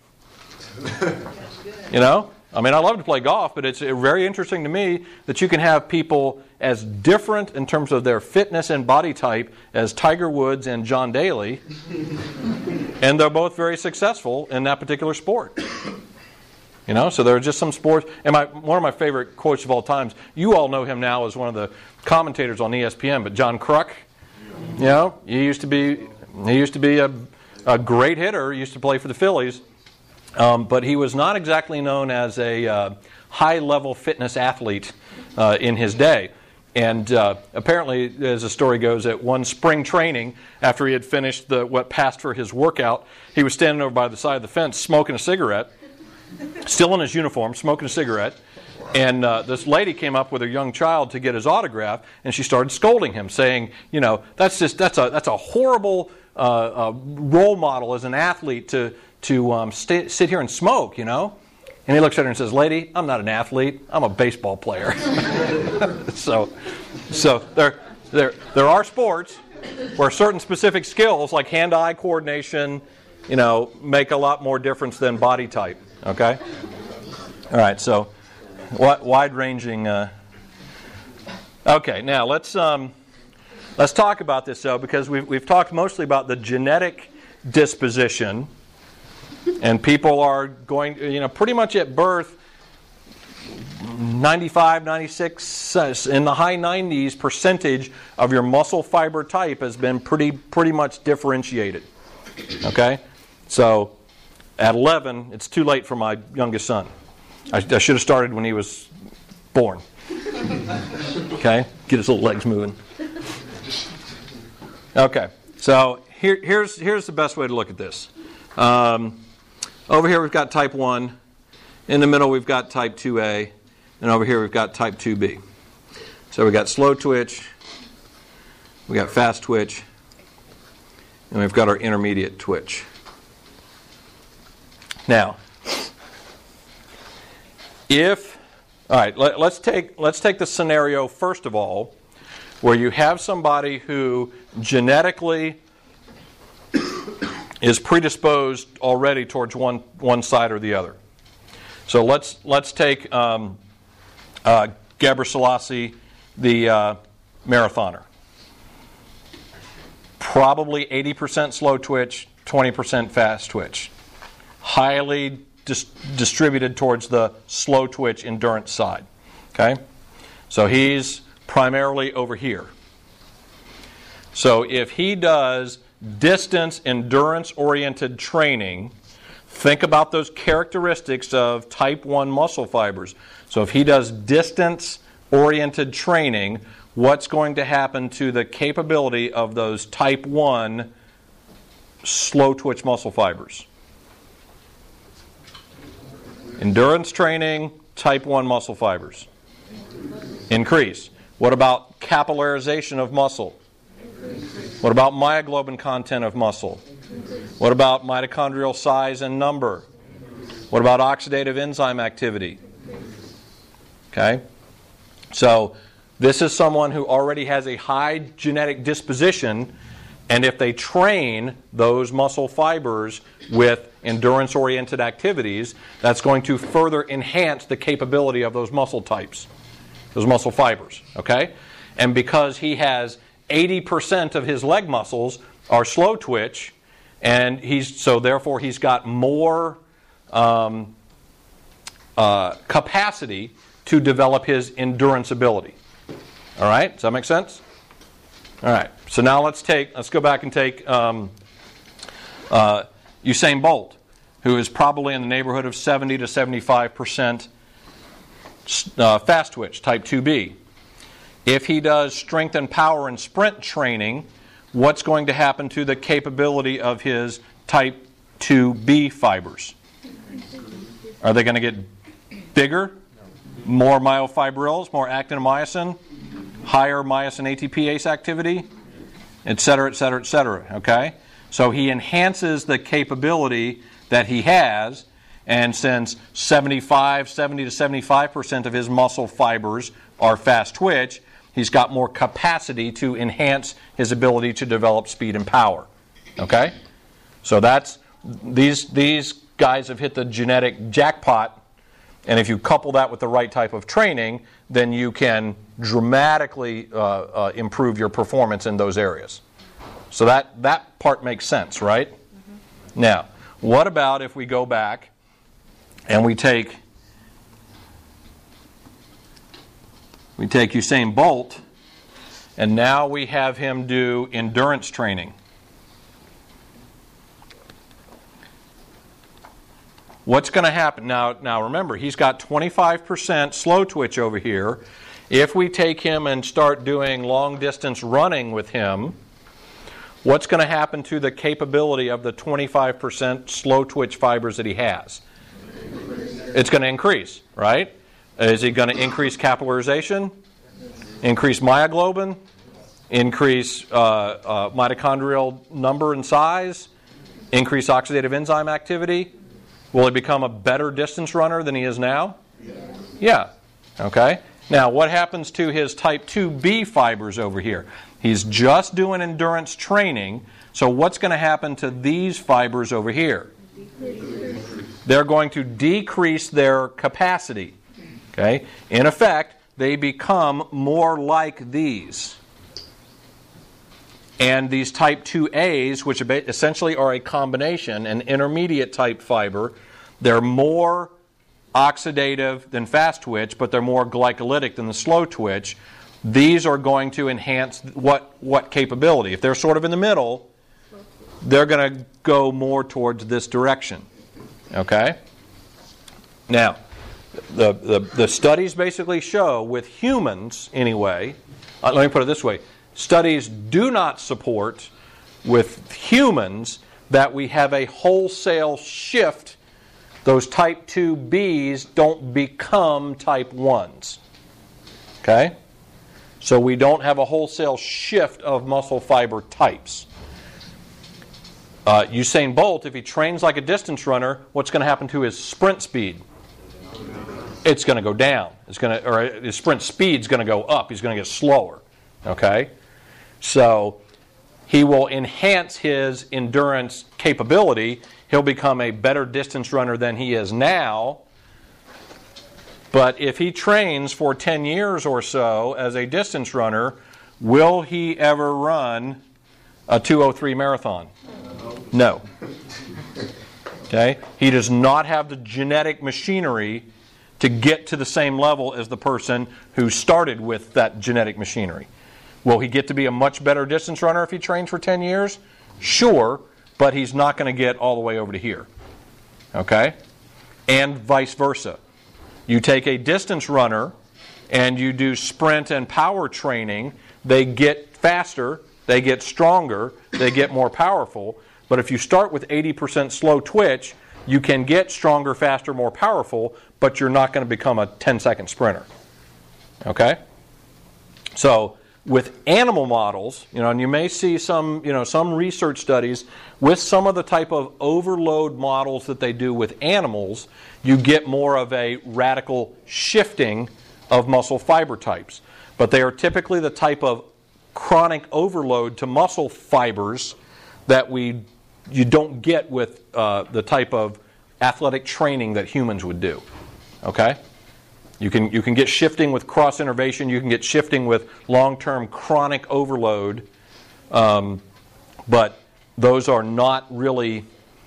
I mean, I love to play golf, but it's very interesting to me that you can have people as different in terms of their fitness and body type as Tiger Woods and John Daly, and they're both very successful in that particular sport. So there are just some sports. And one of my favorite quotes of all times, you all know him now as one of the commentators on ESPN, but John Kruk, he used to be a great hitter. He used to play for the Phillies. But he was not exactly known as a high-level fitness athlete in his day. And apparently, as the story goes, at one spring training, after he had finished what passed for his workout, he was standing over by the side of the fence smoking a cigarette. still in his uniform, smoking a cigarette. And this lady came up with a young child to get his autograph, and she started scolding him, saying, that's a horrible role model as an athlete to sit here and smoke, And he looks at her and says, "Lady, I'm not an athlete. I'm a baseball player." So there are sports where certain specific skills, like hand-eye coordination, make a lot more difference than body type. Okay. All right. So wide-ranging. Okay. Now let's talk about this though, because we've talked mostly about the genetic disposition. And people are going, pretty much at birth, 95, 96, in the high 90s percentage of your muscle fiber type has been pretty much differentiated. Okay? So, at 11, it's too late for my youngest son. I should have started when he was born. Okay? Get his little legs moving. Okay. So, here's the best way to look at this. Over here we've got type 1. In the middle we've got type 2A. And over here we've got type 2B. So we've got slow twitch. We've got fast twitch. And we've got our intermediate twitch. Now, let's take the scenario first of all where you have somebody who genetically is predisposed already towards one side or the other. So let's take Gebre Selassie, the marathoner. Probably 80% slow twitch, 20% fast twitch. Highly distributed towards the slow twitch endurance side. Okay? So he's primarily over here. So if he does distance endurance-oriented training, think about those characteristics of type 1 muscle fibers. So if he does distance-oriented training, what's going to happen to the capability of those type 1 slow-twitch muscle fibers? Endurance training, type 1 muscle fibers. Increase. What about capillarization of muscle? What about myoglobin content of muscle? What about mitochondrial size and number? What about oxidative enzyme activity? Okay? So, this is someone who already has a high genetic disposition, and if they train those muscle fibers with endurance-oriented activities, that's going to further enhance the capability of those muscle types, those muscle fibers. Okay? And because he has 80% of his leg muscles are slow twitch, and therefore he's got more capacity to develop his endurance ability. All right, does that make sense? All right. So now let's go back and take Usain Bolt, who is probably in the neighborhood of 70 to 75% fast twitch, type 2B. If he does strength and power and sprint training, what's going to happen to the capability of his type 2B fibers? Are they going to get bigger? More myofibrils, more actin-myosin, higher myosin ATPase activity, etc., etc., etc. Okay? So he enhances the capability that he has, and since 70 to 75% of his muscle fibers are fast twitch, he's got more capacity to enhance his ability to develop speed and power. Okay? So these guys have hit the genetic jackpot, and if you couple that with the right type of training, then you can dramatically improve your performance in those areas. So that part makes sense, right? Mm-hmm. Now, what about if we go back and we take Usain Bolt, and now we have him do endurance training. What's going to happen? Now remember, he's got 25% slow twitch over here. If we take him and start doing long distance running with him, what's going to happen to the capability of the 25% slow twitch fibers that he has? It's going to increase, right? Is it going to increase capillarization? Increase myoglobin? Increase mitochondrial number and size? Increase oxidative enzyme activity? Will he become a better distance runner than he is now? Yeah. Okay. Now, what happens to his type 2B fibers over here? He's just doing endurance training, so what's going to happen to these fibers over here? They're going to decrease their capacity. Okay? In effect, they become more like these. And these type 2As, which essentially are a combination, an intermediate type fiber, they're more oxidative than fast twitch, but they're more glycolytic than the slow twitch. These are going to enhance what capability? If they're sort of in the middle, they're going to go more towards this direction. Okay? Now, the studies basically show, with humans anyway, let me put it this way, studies do not support with humans that we have a wholesale shift. Those type 2Bs don't become type 1s. Okay? So we don't have a wholesale shift of muscle fiber types. Usain Bolt, if he trains like a distance runner, what's going to happen to his sprint speed? It's going to go down. Or his sprint speed's going to go up. He's going to get slower. Okay? So he will enhance his endurance capability. He'll become a better distance runner than he is now. But if he trains for 10 years or so as a distance runner, will he ever run a 2:03 marathon? No. Okay? He does not have the genetic machinery to get to the same level as the person who started with that genetic machinery. Will he get to be a much better distance runner if he trains for 10 years? Sure, but he's not going to get all the way over to here. Okay? And vice versa. You take a distance runner and you do sprint and power training, they get faster, they get stronger, they get more powerful. But if you start with 80% slow twitch, you can get stronger, faster, more powerful, but you're not going to become a 10-second sprinter. Okay? So, with animal models, and you may see some research studies with some of the type of overload models that they do with animals, you get more of a radical shifting of muscle fiber types. But they are typically the type of chronic overload to muscle fibers that you don't get with the type of athletic training that humans would do. Okay? You can get shifting with cross innervation. You can get shifting with long-term chronic overload, but those are not really.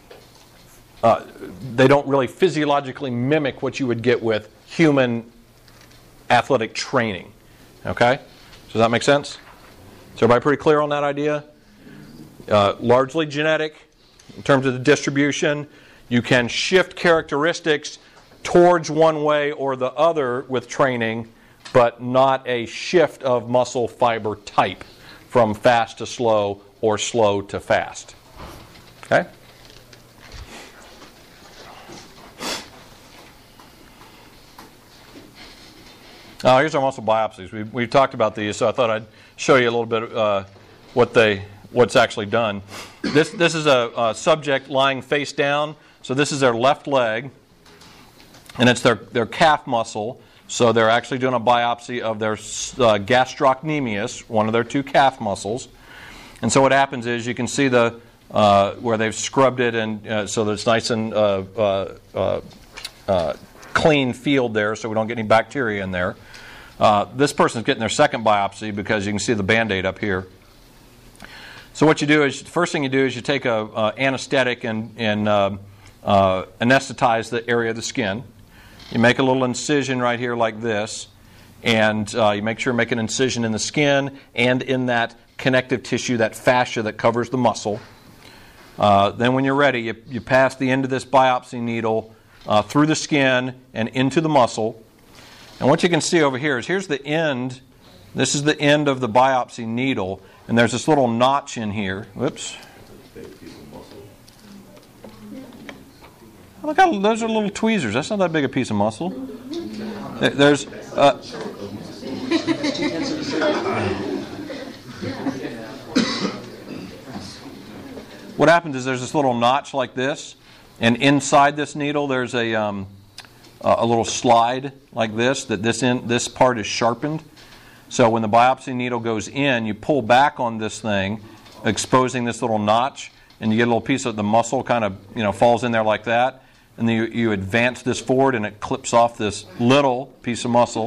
They don't really physiologically mimic what you would get with human athletic training. Okay, does that make sense? Is everybody pretty clear on that idea? Largely genetic in terms of the distribution. You can shift characteristics towards one way or the other with training, but not a shift of muscle fiber type from fast to slow or slow to fast. Okay? Now, here's our muscle biopsies. We've talked about these, so I thought I'd show you a little bit what's actually done. This is a subject lying face down. So this is their left leg. And it's their calf muscle, so they're actually doing a biopsy of their gastrocnemius, one of their two calf muscles. And so what happens is you can see where they've scrubbed it, and so that it's nice and clean field there, so we don't get any bacteria in there. This person's getting their second biopsy because you can see the Band-Aid up here. So what you do is, the first thing you do is you take a anesthetic and anesthetize the area of the skin. You make a little incision right here like this, and you make sure you make an incision in the skin and in that connective tissue, that fascia that covers the muscle. Then when you're ready, you pass the end of this biopsy needle through the skin and into the muscle. And what you can see over here is here's the end. This is the end of the biopsy needle, and there's this little notch in here. Whoops. Look how those are little tweezers. That's not that big a piece of muscle. There's what happens is there's this little notch like this, and inside this needle there's a little slide like this. That this part is sharpened. So when the biopsy needle goes in, you pull back on this thing, exposing this little notch, and you get a little piece of the muscle kind of falls in there like that. And then you advance this forward, and it clips off this little piece of muscle.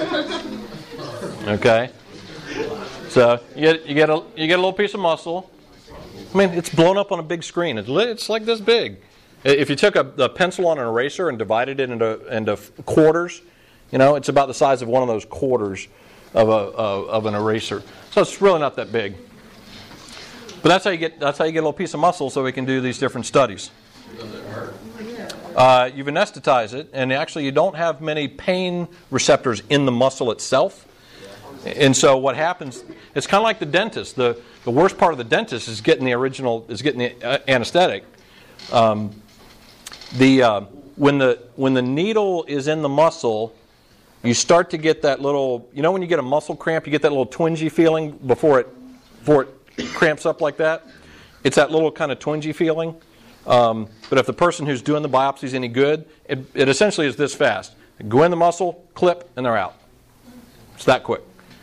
Okay, so you get a little piece of muscle. I mean, it's blown up on a big screen. It's like this big. If you took a pencil on an eraser and divided it into quarters, it's about the size of one of those quarters of an eraser. So it's really not that big. But that's how you get a little piece of muscle, so we can do these different studies. Does it hurt? You've anesthetized it, and actually you don't have many pain receptors in the muscle itself. And so what happens, it's kind of like the dentist. The worst part of the dentist is getting the anesthetic. When the needle is in the muscle, you start to get that little, when you get a muscle cramp, you get that little twingy feeling before it cramps up like that. It's that little kind of twingy feeling. But if the person who's doing the biopsy is any good, it essentially is this fast. Go in the muscle, clip, and they're out. It's that quick.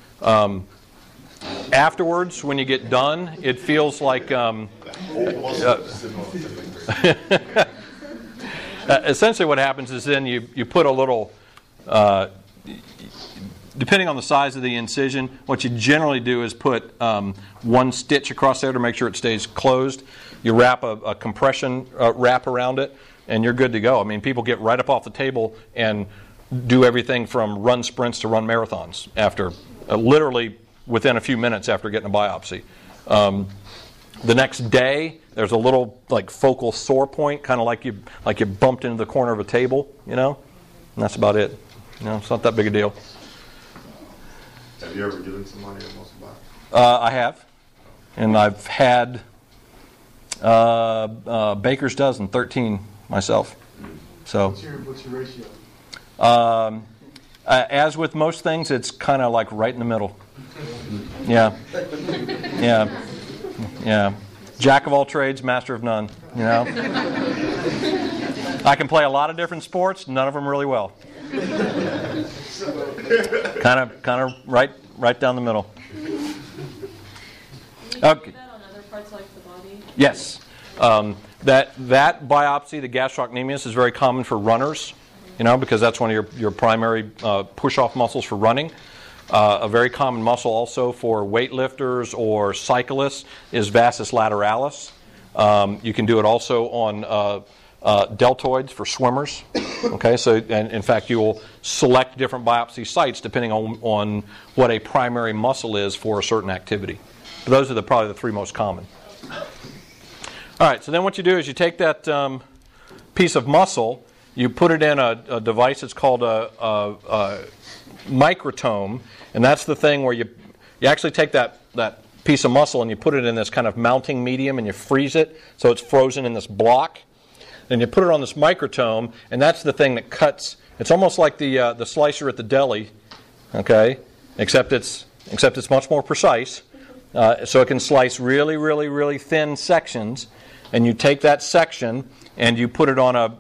Afterwards, when you get done, it feels like essentially what happens is then you put a little, depending on the size of the incision, what you generally do is put one stitch across there to make sure it stays closed. You wrap a compression wrap around it, and you're good to go. I mean, people get right up off the table and do everything from run sprints to run marathons after, literally within a few minutes after getting a biopsy. The next day, there's a little focal sore point, kind of like you bumped into the corner of a table, and that's about it. It's not that big a deal. Have you ever given somebody a muscle biopsy? I have, and I've had baker's dozen, 13 myself. So, What's your ratio? as with most things, it's kind of like right in the middle. Yeah. Jack of all trades, master of none. I can play a lot of different sports, none of them really well. Kind of right down the middle. Can you do Okay. that on other parts like the body? Yes. That biopsy, the gastrocnemius, is very common for runners, because that's one of your primary push-off muscles for running. A very common muscle also for weightlifters or cyclists is vastus lateralis. You can do it also on deltoids for swimmers. Okay, so and in fact you will select different biopsy sites depending on what a primary muscle is for a certain activity. But those are probably the three most common. All right, so then what you do is you take that piece of muscle, you put it in a device that's called a microtome, and that's the thing where you actually take that piece of muscle and you put it in this kind of mounting medium and you freeze it so it's frozen in this block. Then you put it on this microtome, and that's the thing that cuts. It's almost like the slicer at the deli, okay? Except it's much more precise. So it can slice really, really, really thin sections, and you take that section and you put it on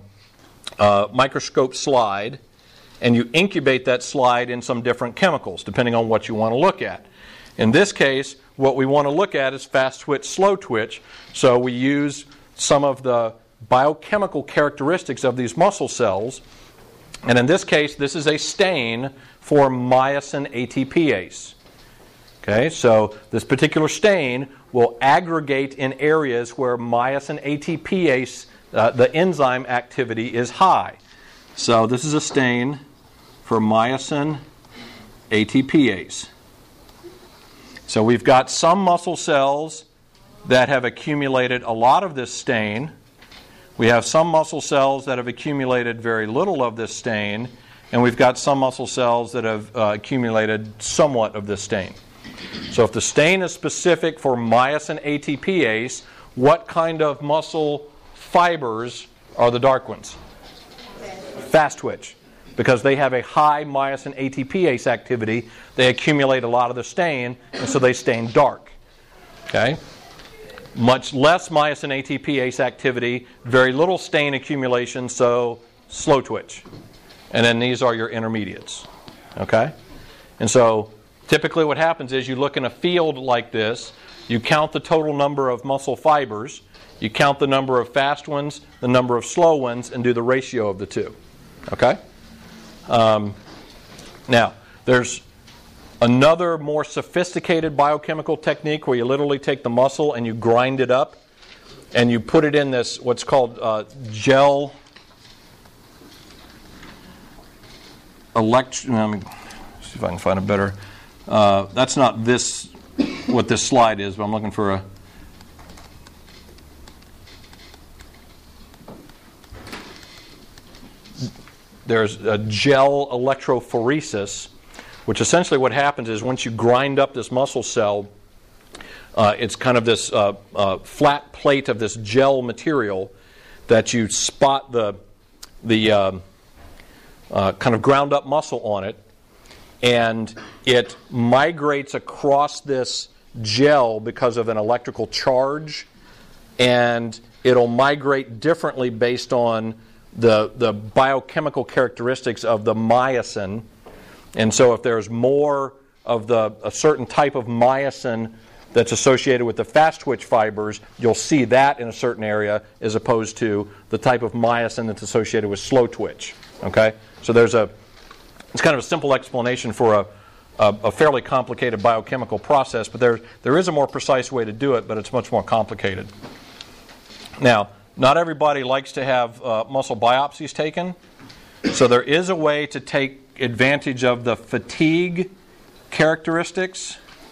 a microscope slide, and you incubate that slide in some different chemicals, depending on what you want to look at. In this case, what we want to look at is fast twitch, slow twitch, so we use some of the biochemical characteristics of these muscle cells, and in this case, this is a stain for myosin ATPase. Okay, so this particular stain will aggregate in areas where myosin ATPase, the enzyme activity, is high. So this is a stain for myosin ATPase. So we've got some muscle cells that have accumulated a lot of this stain. We have some muscle cells that have accumulated very little of this stain, and we've got some muscle cells that have accumulated somewhat of this stain. So if the stain is specific for myosin ATPase, what kind of muscle fibers are the dark ones? Fast twitch. Because they have a high myosin ATPase activity, they accumulate a lot of the stain, and so they stain dark. Okay? Much less myosin ATPase activity, very little stain accumulation, so slow twitch. And then these are your intermediates. Okay? And so typically what happens is you look in a field like this, you count the total number of muscle fibers, you count the number of fast ones, the number of slow ones, and do the ratio of the two. Okay? Now, there's another more sophisticated biochemical technique where you literally take the muscle and you grind it up and you put it in this what's called gel let me see if I can find a better. That's not this what this slide is, but I'm looking for a. There's a gel electrophoresis, which essentially what happens is once you grind up this muscle cell, it's kind of this flat plate of this gel material that you spot the kind of ground up muscle on it, and it migrates across this gel because of an electrical charge, and it'll migrate differently based on the biochemical characteristics of the myosin. And so if there's more of a certain type of myosin that's associated with the fast twitch fibers, you'll see that in a certain area as opposed to the type of myosin that's associated with slow twitch. Okay? So it's kind of a simple explanation for a fairly complicated biochemical process, but there is a more precise way to do it, but it's much more complicated. Now, not everybody likes to have muscle biopsies taken, so there is a way to take advantage of the fatigue characteristics.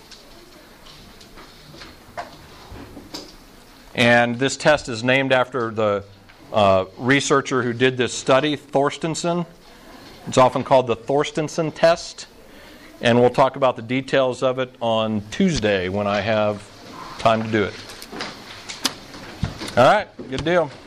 And this test is named after the researcher who did this study, Thorstensen. It's often called the Thorstensen test. And we'll talk about the details of it on Tuesday when I have time to do it. All right, good deal.